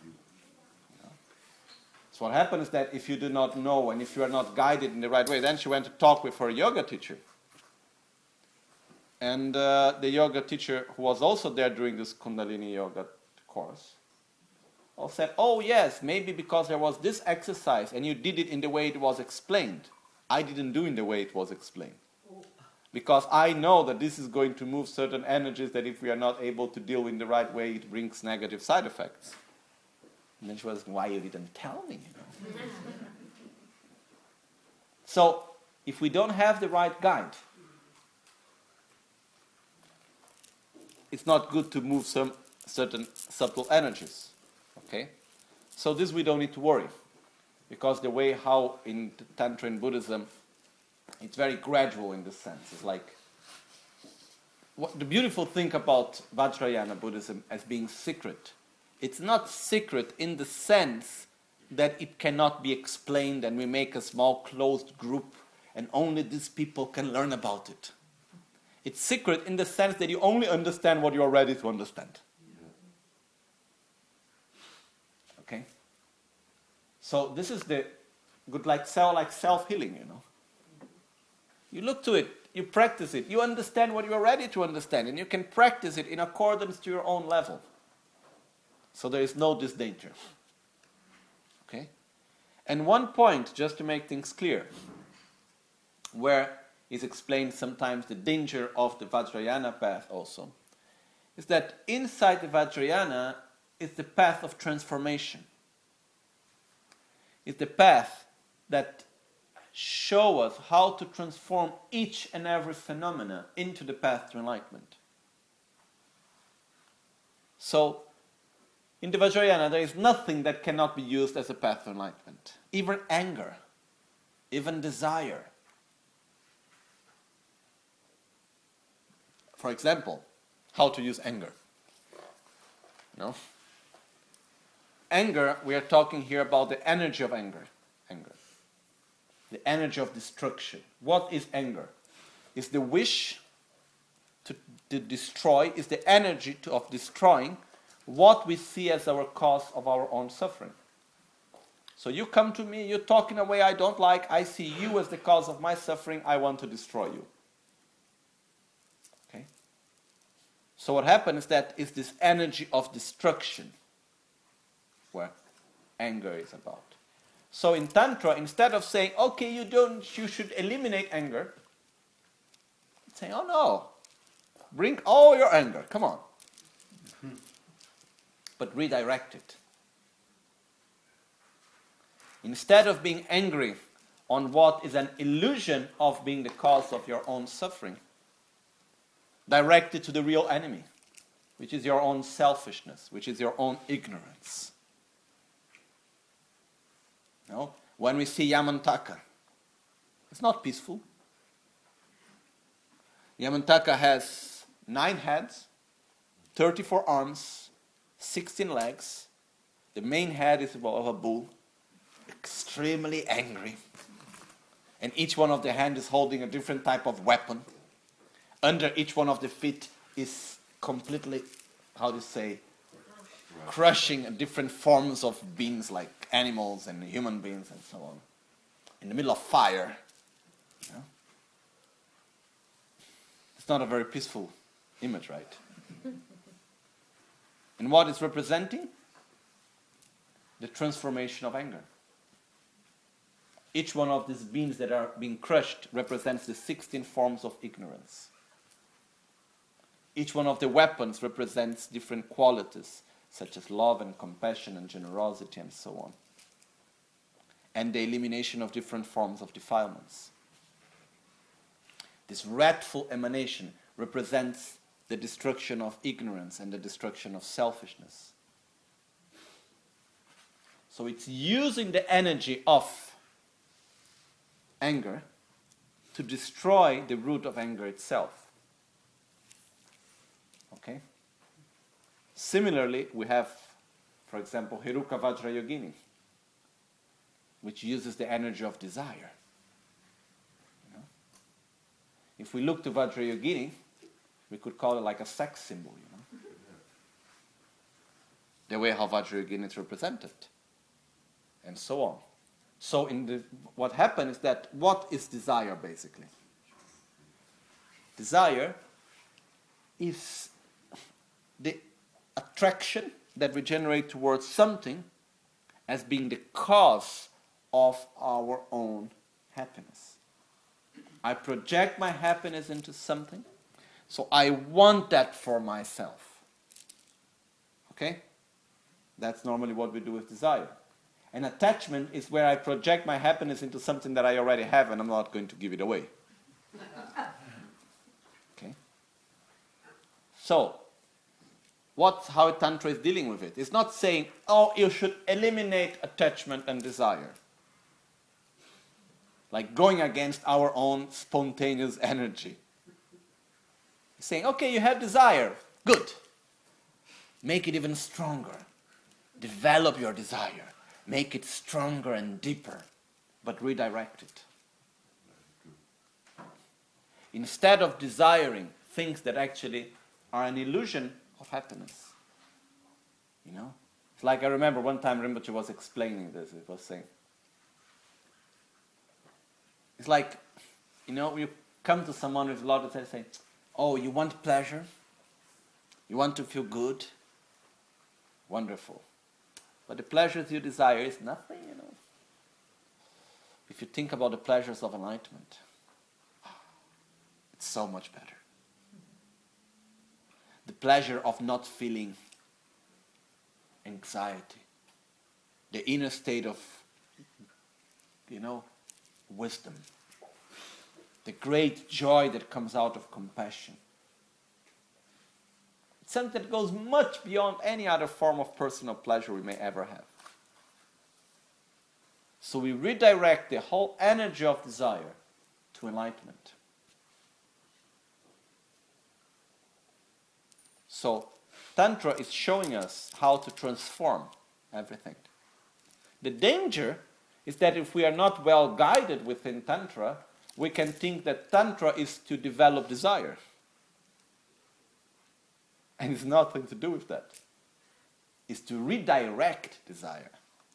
So what happens is that if you do not know and if you are not guided in the right way, then she went to talk with her yoga teacher. And uh, the yoga teacher, who was also there during this Kundalini yoga course, or said, oh yes, maybe because there was this exercise and you did it in the way it was explained. I didn't do it in the way it was explained. Because I know that this is going to move certain energies that if we are not able to deal in the right way, it brings negative side effects. And then she was, why you didn't tell me? You know? So, if we don't have the right guide, it's not good to move some certain subtle energies. Okay? So this we don't need to worry. Because the way how in Tantra and Buddhism, it's very gradual in this sense. It's like, what the beautiful thing about Vajrayana Buddhism as being secret, it's not secret in the sense that it cannot be explained and we make a small closed group and only these people can learn about it. It's secret in the sense that you only understand what you are ready to understand. Okay? So this is the good like self like self-healing, you know. You look to it, you practice it, you understand what you are ready to understand, and you can practice it in accordance to your own level. So there is no this danger. Okay? And one point, just to make things clear, where is explained sometimes the danger of the Vajrayana path also, is that inside the Vajrayana is the path of transformation. It's the path that show us how to transform each and every phenomena into the path to enlightenment. So, in the Vajrayana, there is nothing that cannot be used as a path to enlightenment. Even anger, even desire. For example, how to use anger. No? Anger, we are talking here about the energy of anger. Anger. The energy of destruction. What is anger? It's the wish to, to destroy, is the energy to, of destroying what we see as our cause of our own suffering. So you come to me, you talk in a way I don't like, I see you as the cause of my suffering, I want to destroy you. Okay? So what happens is that is this energy of destruction where anger is about. So in Tantra, instead of saying, okay, you don't, you should eliminate anger, say, oh no, bring all your anger, come on. But redirect it. Instead of being angry on what is an illusion of being the cause of your own suffering, direct it to the real enemy, which is your own selfishness, which is your own ignorance. No? When we see Yamantaka, it's not peaceful. Yamantaka has nine heads, thirty-four arms, sixteen legs. The main head is of a bull, extremely angry. And each one of the hands is holding a different type of weapon. Under each one of the feet is completely, how do you say, crushing different forms of beings like animals and human beings and so on. In the middle of fire. You know? It's not a very peaceful image, right? And what it's representing? The transformation of anger. Each one of these beings that are being crushed represents the sixteen forms of ignorance. Each one of the weapons represents different qualities, such as love and compassion and generosity and so on. And the elimination of different forms of defilements. This wrathful emanation represents the destruction of ignorance and the destruction of selfishness. So it's using the energy of anger to destroy the root of anger itself. Okay? Similarly, we have, for example, Heruka Vajrayogini, which uses the energy of desire. You know? If we look to Vajrayogini, we could call it like a sex symbol, you know? The way how Vajrayogini is represented, and so on. So in the, what happens is that, what is desire basically? Desire is the attraction, that we generate towards something as being the cause of our own happiness. I project my happiness into something, so I want that for myself. Okay? That's normally what we do with desire. An attachment is where I project my happiness into something that I already have and I'm not going to give it away. Okay? So, what's how Tantra is dealing with it? It's not saying, oh, you should eliminate attachment and desire. Like going against our own spontaneous energy. It's saying, okay, you have desire. Good. Make it even stronger. Develop your desire. Make it stronger and deeper. But redirect it. Instead of desiring things that actually are an illusion of happiness. You know? It's like I remember one time Rinpoche was explaining this. It was saying, it's like, you know, you come to someone with a lot of things saying, oh, you want pleasure? You want to feel good? Wonderful. But the pleasures you desire is nothing, you know. If you think about the pleasures of enlightenment, it's so much better. The pleasure of not feeling anxiety. The inner state of, you know, wisdom. The great joy that comes out of compassion. It's something that goes much beyond any other form of personal pleasure we may ever have. So we redirect the whole energy of desire to enlightenment. So Tantra is showing us how to transform everything. The danger is that if we are not well guided within Tantra, we can think that Tantra is to develop desire. And it's nothing to do with that. It's to redirect desire.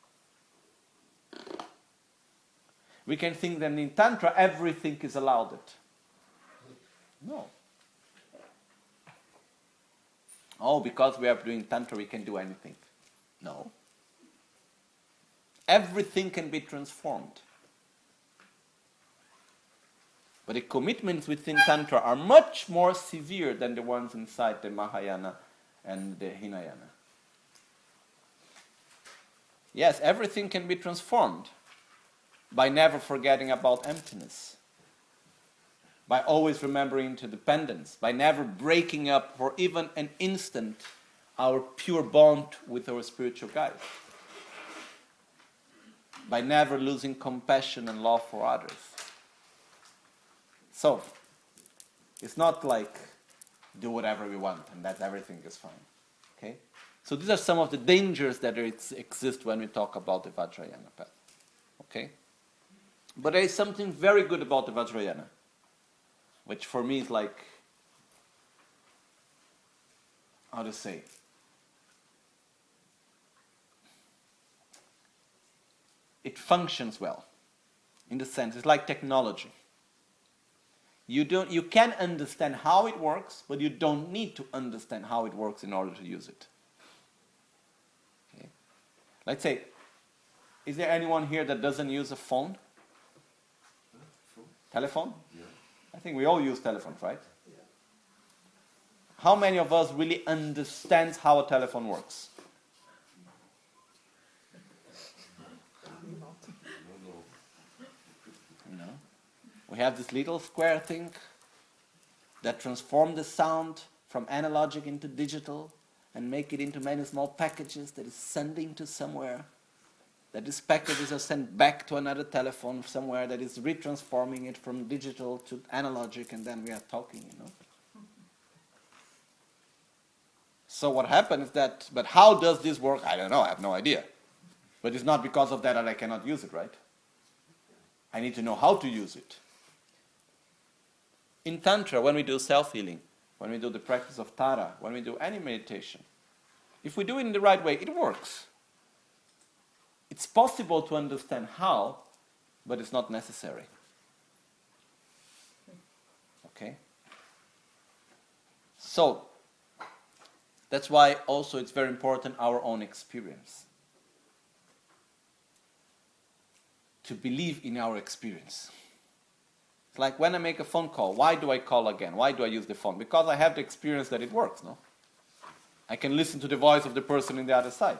We can think that in Tantra everything is allowed it. No. Oh, because we are doing Tantra we can do anything. No. Everything can be transformed. But the commitments within Tantra are much more severe than the ones inside the Mahayana and the Hinayana. Yes, everything can be transformed by never forgetting about emptiness, by always remembering interdependence, by never breaking up for even an instant our pure bond with our spiritual guide, by never losing compassion and love for others. So, it's not like do whatever we want and that everything is fine. Okay? So these are some of the dangers that exist when we talk about the Vajrayana path. Okay? But there is something very good about the Vajrayana, which for me is like, how to say, it functions well. In the sense, it's like technology. You don't, you can understand how it works, but you don't need to understand how it works in order to use it. Okay. Let's say, is there anyone here that doesn't use a phone? Phone? Telephone? Yeah. I think we all use telephones, right? Yeah. How many of us really understands how a telephone works? We have this little square thing that transforms the sound from analogic into digital and make it into many small packages that is sending to somewhere. That these packages are sent back to another telephone somewhere that is retransforming it from digital to analogic, and then we are talking, you know. So what happens is that, but how does this work? I don't know, I have no idea. But it's not because of that that I cannot use it, right? I need to know how to use it. In Tantra, when we do self-healing, when we do the practice of Tara, when we do any meditation, if we do it in the right way, it works. It's possible to understand how, but it's not necessary. Okay? So, That's why also it's very important our own experience. To believe in our experience. It's like when I make a phone call, why do I call again? Why do I use the phone? Because I have the experience that it works, no? I can listen to the voice of the person in the other side.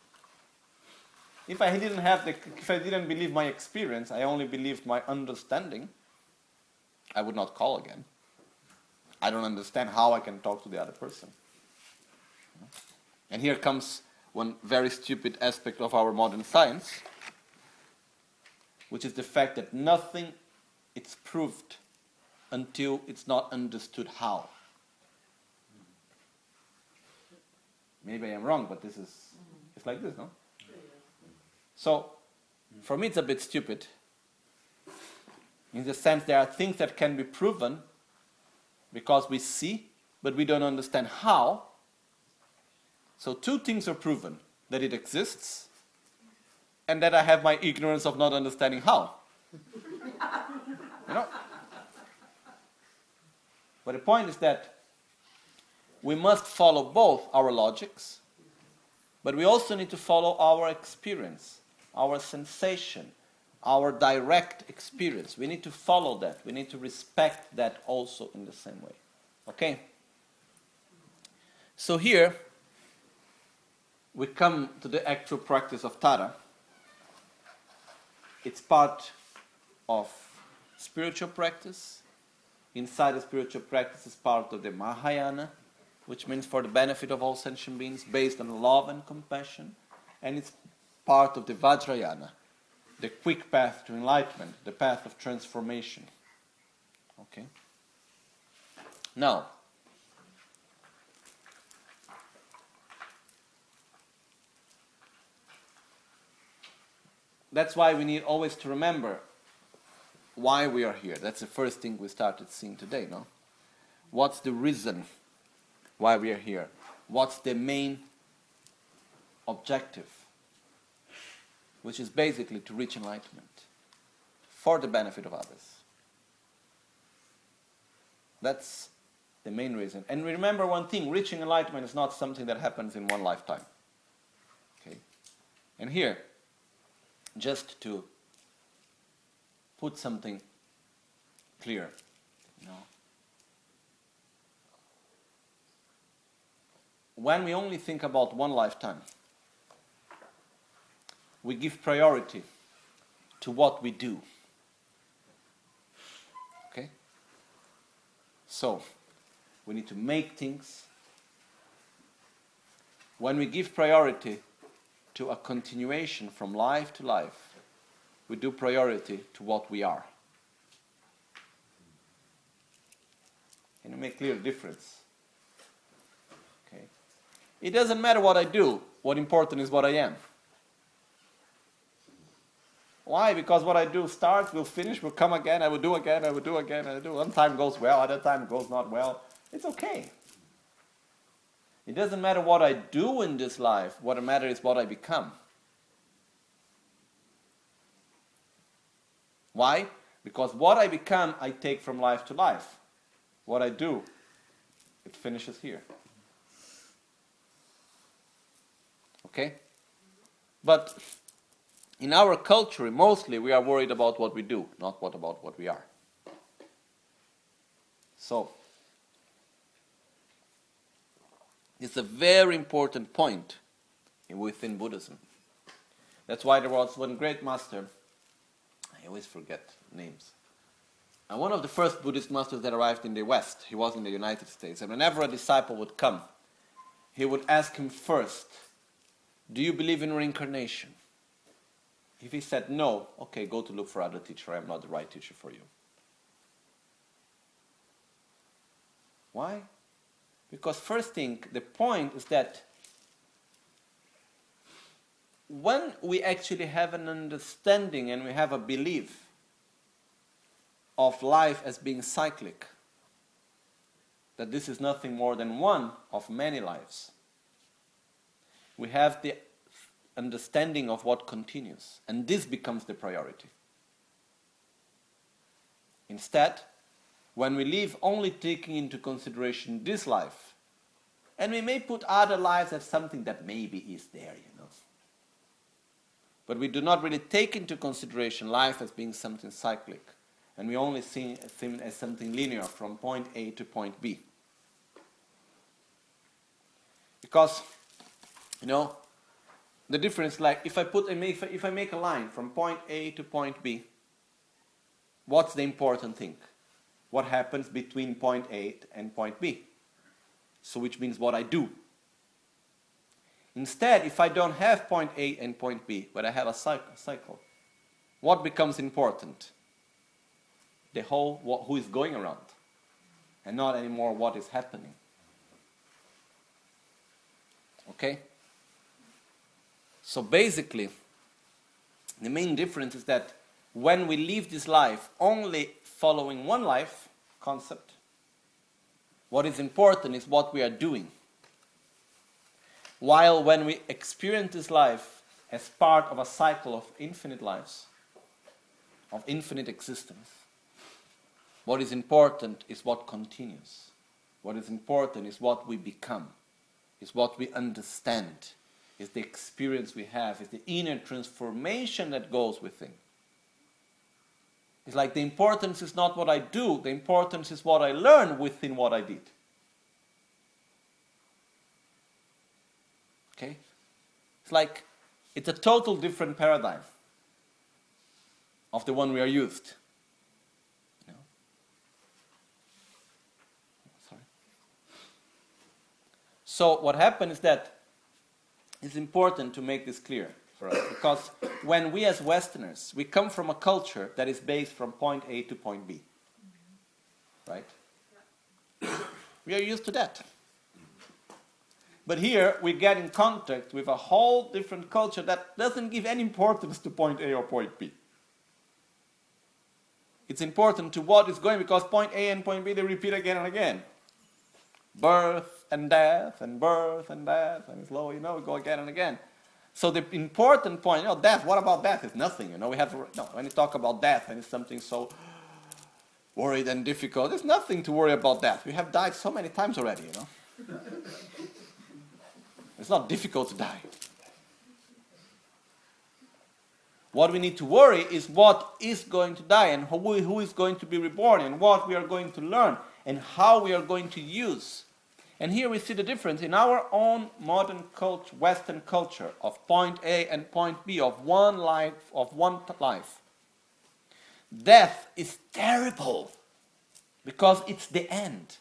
If I didn't have the, if I didn't believe my experience, I only believed my understanding, I would not call again. I don't understand how I can talk to the other person. And here comes one very stupid aspect of our modern science, which is the fact that nothing is proved until it's not understood how. Maybe I am wrong, but this is, it's like this, no? So, for me it's a bit stupid, in the sense there are things that can be proven because we see, but we don't understand how. So two things are proven, that it exists, and that I have my ignorance of not understanding how. You know? But the point is that we must follow both our logics, but we also need to follow our experience, our sensation, our direct experience. We need to follow that. We need to respect that also in the same way. Okay? So here, we come to the actual practice of Tara. It's part of spiritual practice. Inside the spiritual practice is part of the Mahayana, which means for the benefit of all sentient beings, based on love and compassion. And it's part of the Vajrayana, the quick path to enlightenment, the path of transformation. Okay? Now, that's why we need always to remember why we are here. That's the first thing we started seeing today, no? What's the reason why we are here? What's the main objective? Which is basically to reach enlightenment for the benefit of others. That's the main reason. And remember one thing, reaching enlightenment is not something that happens in one lifetime. Okay? And here, just to put something clear, you know, when we only think about one lifetime, we give priority to what we do. Okay? So, we need to make things. When we give priority to a continuation from life to life, we do priority to what we are. Can you make clear difference? Okay. It doesn't matter what I do. What important is what I am. Why? Because what I do starts, will finish, will come again, I will do again, I will do again, I will do. One time goes well, other time goes not well. It's okay. It doesn't matter what I do in this life. What matters is what I become. Why? Because what I become, I take from life to life. What I do, it finishes here. Okay? But in our culture, mostly we are worried about what we do, not what about what we are. So, it's a very important point within Buddhism. That's why there was one great master, I always forget names, and one of the first Buddhist masters that arrived in the West, he was in the United States, and whenever a disciple would come, he would ask him first, do you believe in reincarnation? If he said no, okay, go to look for other teacher, I am not the right teacher for you. Why? Because first thing, the point is that when we actually have an understanding and we have a belief of life as being cyclic, that this is nothing more than one of many lives, we have the understanding of what continues, and this becomes the priority. Instead, when we live only taking into consideration this life And we may put other lives as something that maybe is there, you know. But we do not really take into consideration life as being something cyclic. And we only see it as something linear from point A to point B. Because, you know, the difference, like if I put a, if I, if I make a line from point A to point B, what's the important thing? What happens between point A and point B? So which means what I do. Instead, if I don't have point A and point B, but I have a cycle, what becomes important? The whole, what, who is going around, and not anymore what is happening. Okay? So basically, the main difference is that when we live this life only following one life concept, what is important is what we are doing. While when we experience this life as part of a cycle of infinite lives, of infinite existence, what is important is what continues. What is important is what we become, is what we understand, is the experience we have, is the inner transformation that goes within. It's like the importance is not what I do, the importance is what I learn within what I did. Okay? It's like, it's a total different paradigm of the one we are used. You know? Sorry. So what happened is that it's important to make this clear for us, because when we as Westerners, we come from a culture that is based from point A to point B. Right? We are used to that. But here we get in contact with a whole different culture that doesn't give any importance to point A or point B. It's important to what is going, because point A and point B, they repeat again and again. Birth and death and birth and death, and it's low, you know, we go again and again. So the important point, you know, death, what about death? It's nothing, you know, we have to, no, when you talk about death and it's something so worried and difficult, there's nothing to worry about death. We have died so many times already, you know. It's not difficult to die. What we need to worry is what is going to die, and who, who is going to be reborn, and what we are going to learn, and how we are going to use. And here we see the difference in our own modern culture, Western culture, of point A and point B, of one life, of one life. Death is terrible because it's the end.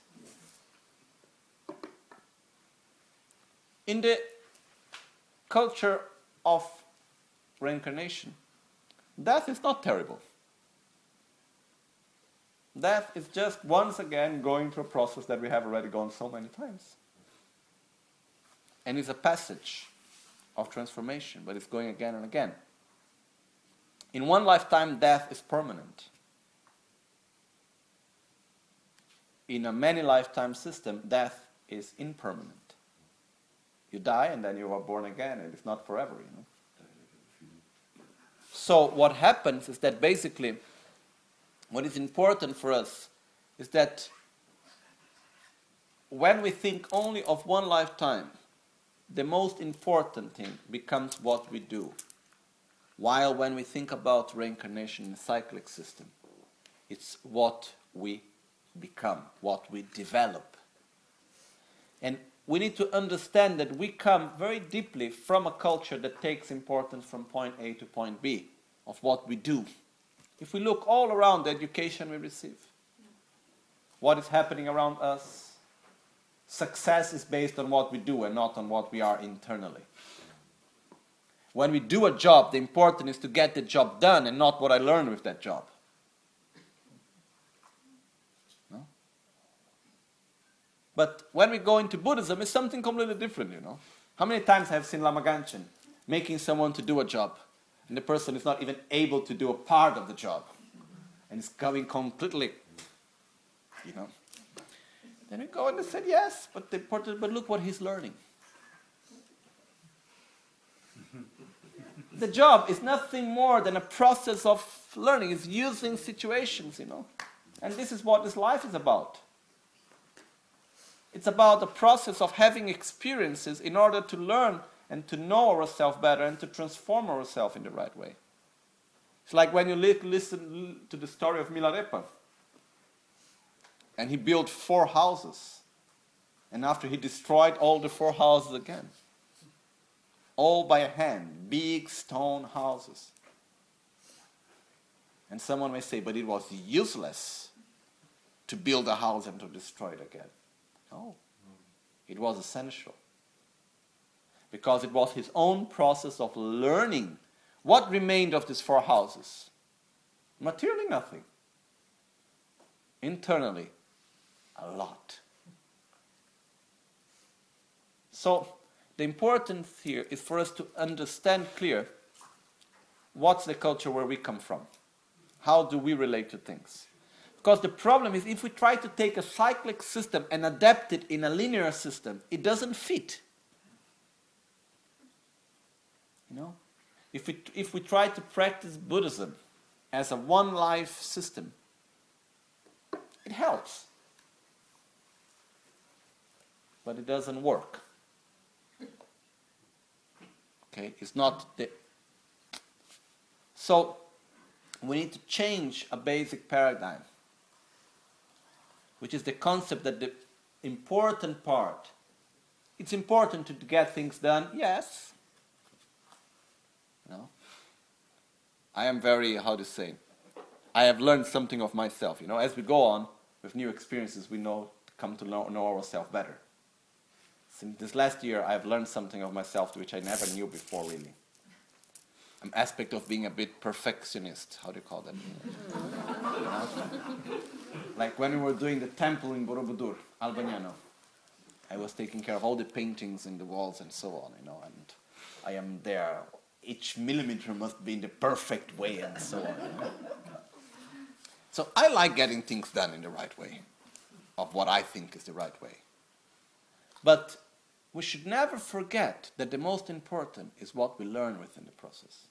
In the culture of reincarnation, death is not terrible. Death is just once again going through a process that we have already gone so many times. And it's a passage of transformation, but it's going again and again. In one lifetime, death is permanent. In a many lifetime system, death is impermanent. You die and then you are born again, and it's not forever, you know. So what happens is that basically what is important for us is that when we think only of one lifetime, the most important thing becomes what we do. While when we think about reincarnation in a cyclic system, it's what we become, what we develop. And we need to understand that we come very deeply from a culture that takes importance from point A to point B, of what we do. If we look all around the education we receive, what is happening around us, success is based on what we do and not on what we are internally. When we do a job, the important is to get the job done and not what I learned with that job. No? But when we go into Buddhism, it's something completely different, you know. How many times have I seen Lama Ganchen making someone to do a job, and the person is not even able to do a part of the job, and it's going completely, you know. Then we go and they said, yes, but the important, but look what he's learning. The job is nothing more than a process of learning. It's using situations, you know. And this is what this life is about. It's about the process of having experiences in order to learn and to know ourselves better and to transform ourselves in the right way. It's like when you li- listen to the story of Milarepa. And he built four houses. And after he destroyed all the four houses again. All by hand. Big stone houses. And someone may say, but it was useless to build a house and to destroy it again. No. It was essential. Because it was his own process of learning. What remained of these four houses? Materially, nothing. Internally, a lot. So, the importance here is for us to understand clear what's the culture where we come from. How do we relate to things? Because the problem is if we try to take a cyclic system and adapt it in a linear system, it doesn't fit. You know? If we, if we try to practice Buddhism as a one-life system, it helps. But it doesn't work. Okay? It's not the... So, we need to change a basic paradigm, which is the concept that the important part, it's important to get things done, yes. No? I am very, how to say, I have learned something of myself. You know, as we go on with new experiences, we know come to know, know ourselves better. Since this last year, I have learned something of myself which I never knew before, really. An aspect of being a bit perfectionist. How do you call that? You know? Like when we were doing the temple in Borobudur, Albagnano, I was taking care of all the paintings in the walls and so on, you know, and I am there. Each millimeter must be in the perfect way and so on. You know? So I like getting things done in the right way, of what I think is the right way. But we should never forget that the most important is what we learn within the process.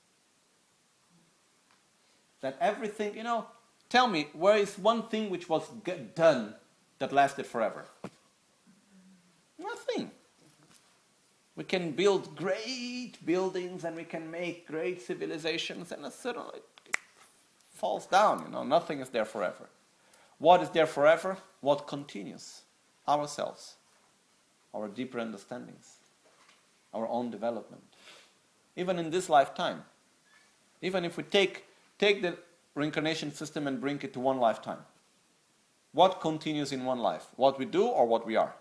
That everything, you know, tell me, where is one thing which was get done that lasted forever? Nothing. We can build great buildings and we can make great civilizations and suddenly it falls down, you know, nothing is there forever. What is there forever? What continues? Ourselves. Our deeper understandings. Our own development. Even in this lifetime. Even if we take Take the reincarnation system and bring it to one lifetime. What continues in one life? What we do or what we are?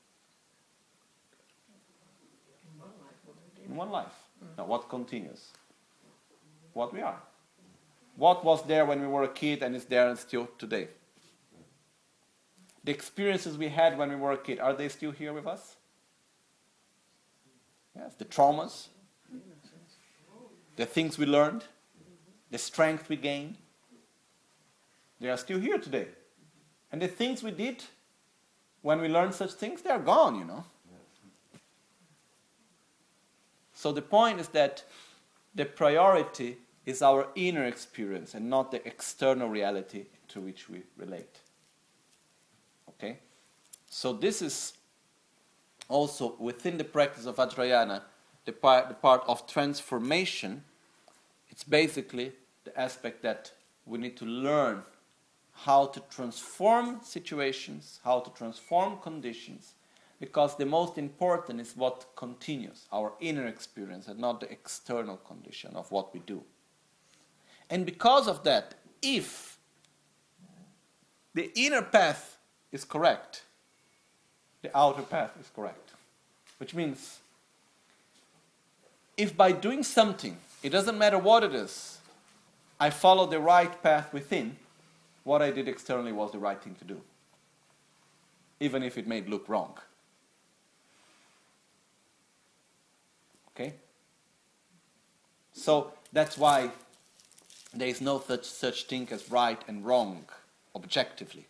In one life, what we In one life. Now, what continues? What we are. What was there when we were a kid and is there still today? The experiences we had when we were a kid, are they still here with us? Yes. The traumas, the things we learned, the strength we gained, they are still here today. And the things we did when we learned such things, they are gone, you know. So the point is that the priority is our inner experience and not the external reality to which we relate. Okay? So this is also within the practice of Vajrayana, the part, the part of transformation. It's basically the aspect that we need to learn how to transform situations, how to transform conditions, because the most important is what continues, our inner experience, and not the external condition of what we do. And because of that, if the inner path is correct, the outer path is correct. Which means, if by doing something, it doesn't matter what it is, I follow the right path within, what I did externally was the right thing to do. Even if it may look wrong. Okay? So that's why there is no such, such thing as right and wrong objectively.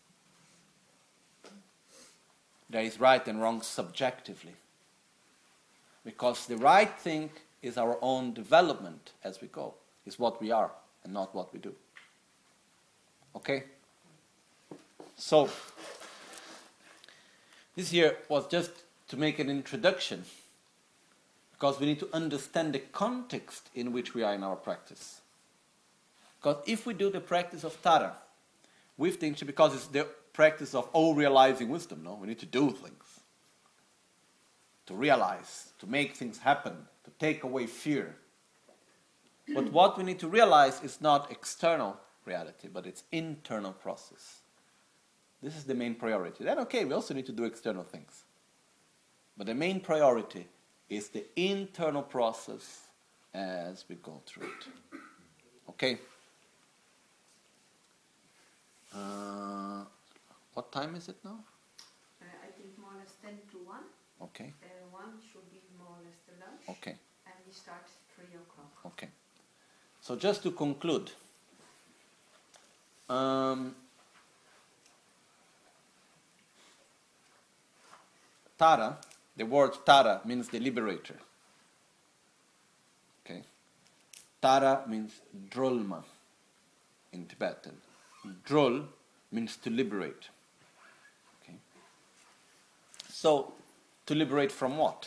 There is right and wrong subjectively. Because the right thing is our own development as we go. Is what we are and not what we do. Okay? So, This here was just to make an introduction, because we need to understand the context in which we are in our practice. Because if we do the practice of Tara with the intention, because it's the practice of all realizing wisdom, no? We need to do things, to realize, to make things happen, to take away fear. But what we need to realize is not external reality, but it's internal process. This is the main priority. Then, okay, we also need to do external things. But the main priority is the internal process as we go through it. Okay? Uh, what time is it now? Uh, I think more or less ten to one. Okay. Uh, one should be more or less the lunch. Okay. And we start three o'clock. Okay. So just to conclude, um, Tara, the word Tara means the liberator. Okay. Tara means drolma in Tibetan. Drol means to liberate. Okay. So, to liberate from what?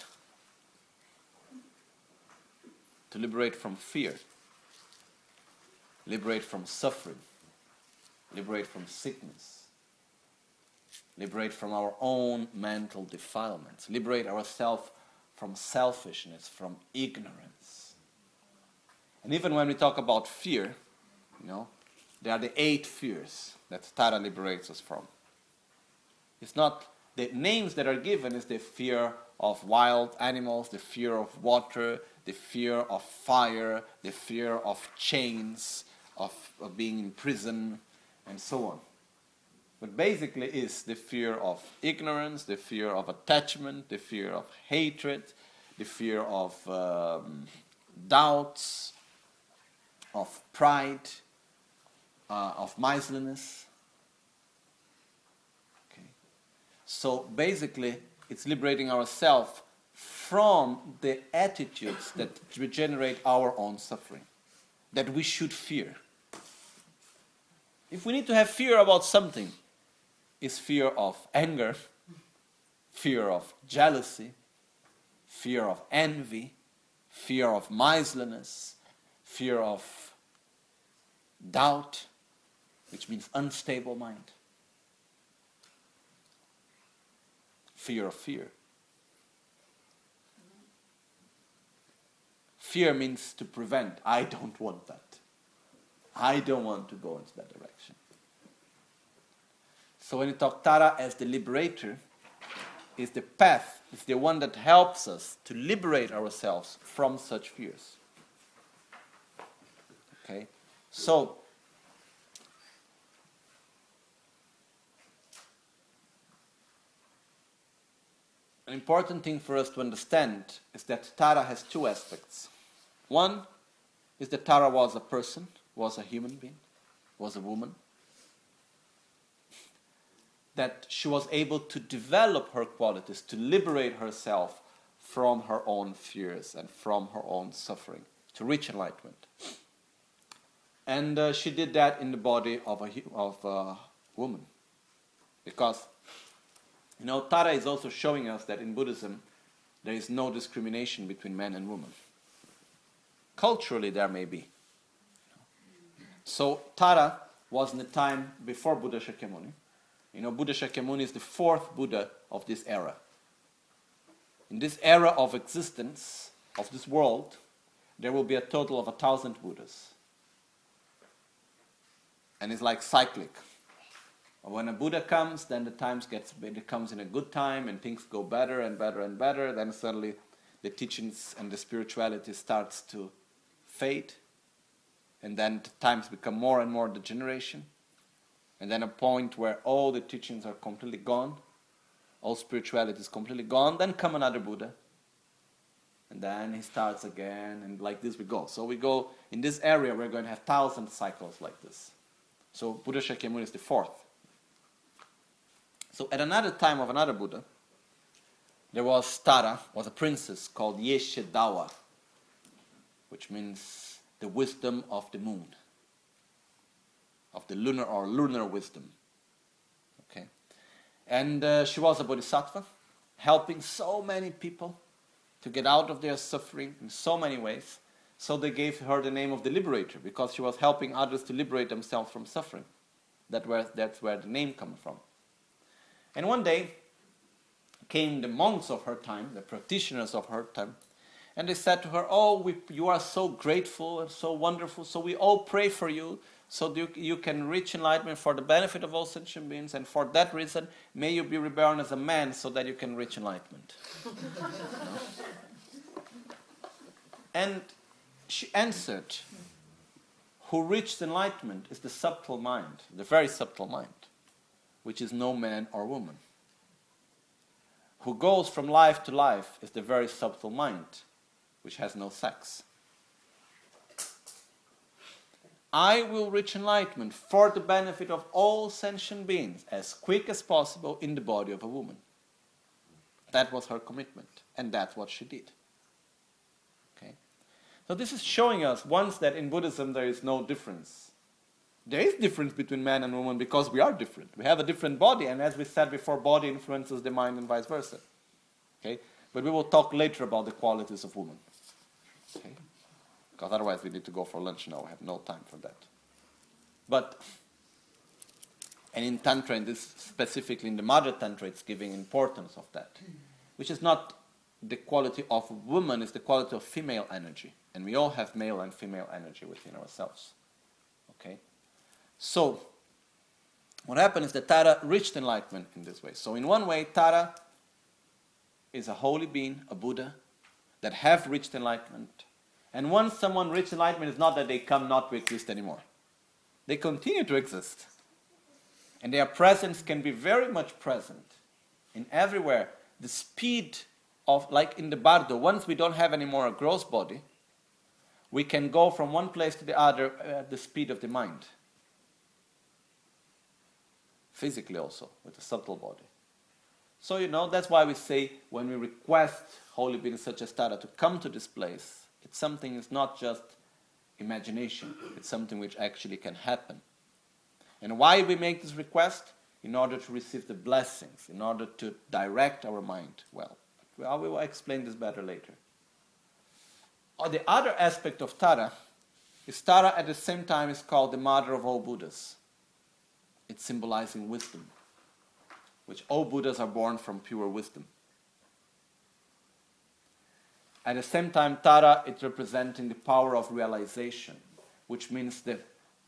To liberate from fear. Liberate from suffering. Liberate from sickness. Liberate from our own mental defilements. Liberate ourselves from selfishness, from ignorance. And even when we talk about fear, you know, there are the eight fears that Tara liberates us from. It's not the names that are given, is the fear of wild animals, the fear of water, the fear of fire, the fear of chains, of, of being in prison, and so on. But basically is the fear of ignorance, the fear of attachment, the fear of hatred, the fear of um, doubts, of pride, uh, of miserliness. Okay. So basically, it's liberating ourselves from the attitudes that generate our own suffering, that we should fear. If we need to have fear about something, it's fear of anger, fear of jealousy, fear of envy, fear of miserliness, fear of doubt, which means unstable mind. Fear of fear. Fear means to prevent. I don't want that. I don't want to go into that direction. So when you talk Tara as the liberator, is the path, is the one that helps us to liberate ourselves from such fears. Okay? So, an important thing for us to understand is that Tara has two aspects. One is that Tara was a person, was a human being, was a woman. That she was able to develop her qualities, to liberate herself from her own fears and from her own suffering, to reach enlightenment. And uh, she did that in the body of a, of a woman. Because, you know, Tara is also showing us that in Buddhism, there is no discrimination between men and women. Culturally, there may be. So, Tara was in the time before Buddha Shakyamuni. You know, Buddha Shakyamuni is the fourth Buddha of this era. In this era of existence, of this world, there will be a total of a thousand Buddhas. And it's like cyclic. When a Buddha comes, then the times gets, it comes in a good time and things go better and better and better. Then suddenly the teachings and the spirituality starts to fade. And then the times become more and more degeneration. And then a point where all the teachings are completely gone, all spirituality is completely gone, then come another Buddha. And then he starts again, and like this we go. So we go, in this area we're going to have thousand cycles like this. So Buddha Shakyamuni is the fourth. So at another time of another Buddha, there was Tara, was a princess called Yeshe Dawa, which means the wisdom of the moon. Of the lunar or lunar wisdom. Okay? And uh, she was a bodhisattva, helping so many people to get out of their suffering in so many ways. So they gave her the name of the liberator, because she was helping others to liberate themselves from suffering. That where, that's where the name comes from. And one day came the monks of her time, the practitioners of her time, and they said to her, oh, we, you are so grateful and so wonderful, so we all pray for you, so you, you can reach enlightenment for the benefit of all sentient beings, and for that reason, may you be reborn as a man so that you can reach enlightenment. And she answered, who reached enlightenment is the subtle mind, the very subtle mind, which is no man or woman. Who goes from life to life is the very subtle mind, which has no sex. I will reach enlightenment for the benefit of all sentient beings as quick as possible in the body of a woman. That was her commitment, and that's what she did. Okay? So this is showing us once that in Buddhism there is no difference. There is difference between man and woman because we are different. We have a different body, and as we said before, body influences the mind and vice versa. Okay? But we will talk later about the qualities of woman. Okay? Because otherwise we need to go for lunch now. We have no time for that. But, and in Tantra, and this specifically in the Mother Tantra, it's giving importance of that. Which is not the quality of woman, it's the quality of female energy. And we all have male and female energy within ourselves. Okay? So, what happened is that Tara reached enlightenment in this way. So in one way, Tara is a holy being, a Buddha, that have reached enlightenment. And once someone reaches enlightenment, it's not that they come not to exist anymore. They continue to exist. And their presence can be very much present in everywhere. The speed of, like in the Bardo, once we don't have anymore a gross body, we can go from one place to the other at the speed of the mind. Physically also, with a subtle body. So, you know, that's why we say when we request holy beings such as Tara to come to this place, it's something, it's not just imagination. It's something which actually can happen. And why we make this request? In order to receive the blessings, in order to direct our mind well. I will explain this better later. Or the other aspect of Tara is Tara at the same time is called the mother of all Buddhas. It's symbolizing wisdom, which all Buddhas are born from pure wisdom. At the same time, Tara is representing the power of realization, which means the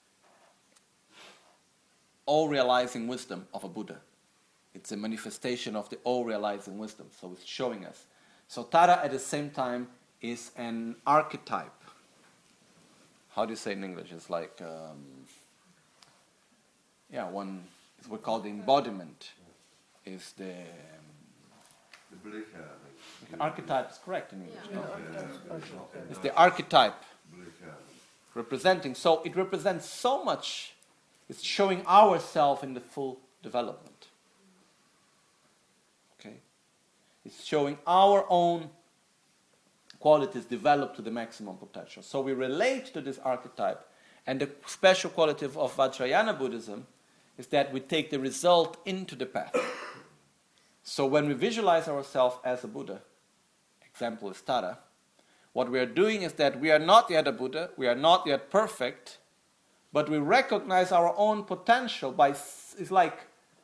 all-realizing wisdom of a Buddha. It's a manifestation of the all-realizing wisdom, so it's showing us. So Tara at the same time is an archetype. How do you say in English? It's like, um, yeah, one, it's what we call the embodiment. Is the... The Blicha. The archetype is correct in English, Yeah. no? Yeah. It's the archetype Blicha. representing. So it represents so much. It's showing ourselves in the full development. Okay? It's showing our own qualities developed to the maximum potential. So we relate to this archetype. And the special quality of, of Vajrayana Buddhism is that we take the result into the path. So when we visualize ourselves as a Buddha, example is Tara, what we are doing is that we are not yet a Buddha, we are not yet perfect, but we recognize our own potential by, it's like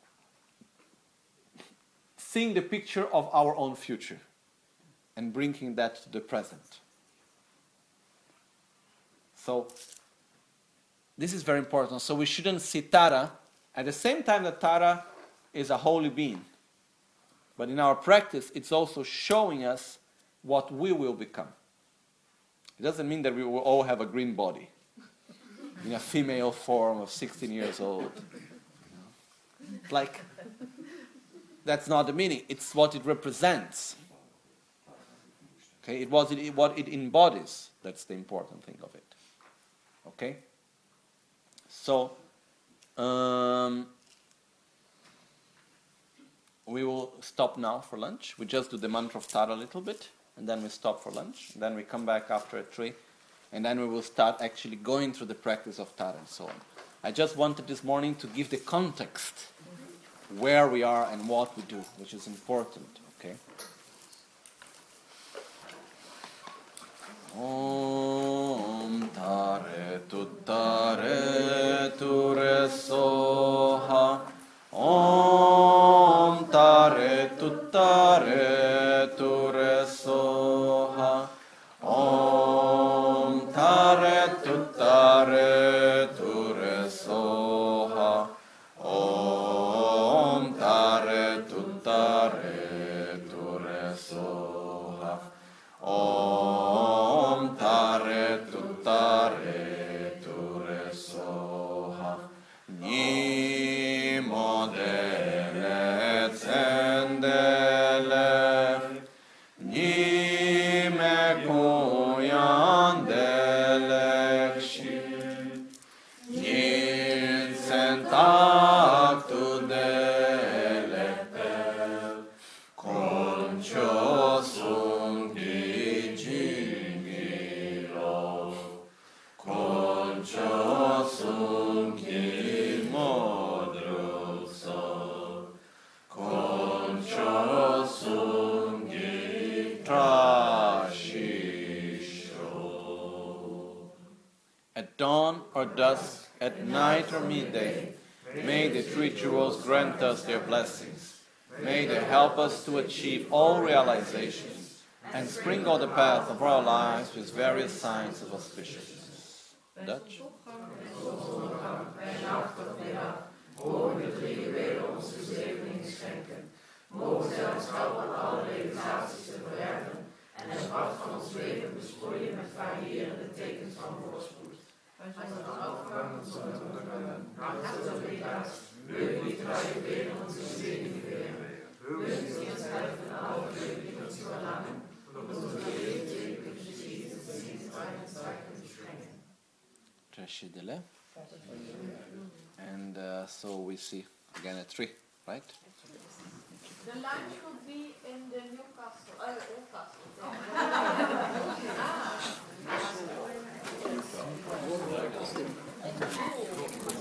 seeing the picture of our own future and bringing that to the present. So this is very important. So we shouldn't see Tara at the same time that Tara is a holy being. But in our practice, it's also showing us what we will become. It doesn't mean that we will all have a green body in a female form of sixteen years old. It's like, that's not the meaning. It's what it represents. Okay, it was it, what it embodies. That's the important thing of it. Okay? So, um, we will stop now for lunch. We just do the mantra of Tara a little bit, and then we stop for lunch. Then we come back after a tree, and then we will start actually going through the practice of Tara and so on. I just wanted this morning to give the context where we are and what we do, which is important. Okay. Om Tare Tuttare Ture Soha. Om Tare Tuttare Ture Soha. Om Tare Tuttare Ture Soha. Om Tare Tuttare Ture Soha. Om Tare Tuttare Ture Soha. Ni modele zendele. Ni me kuyandele kshi. Ni sentaktu dele pel. Concio sungi jingiro. Concio sungi modruso. Concio sungi trashisho. At dawn or dusk, at night or midday, may the rituals grant us their blessings. May they help us to achieve all realizations and sprinkle the path of our lives with various signs of auspiciousness. Dutch? Trashidele. And uh, so we see again at three, right? The lunch would be in the Newcastle, uh, Newcastle.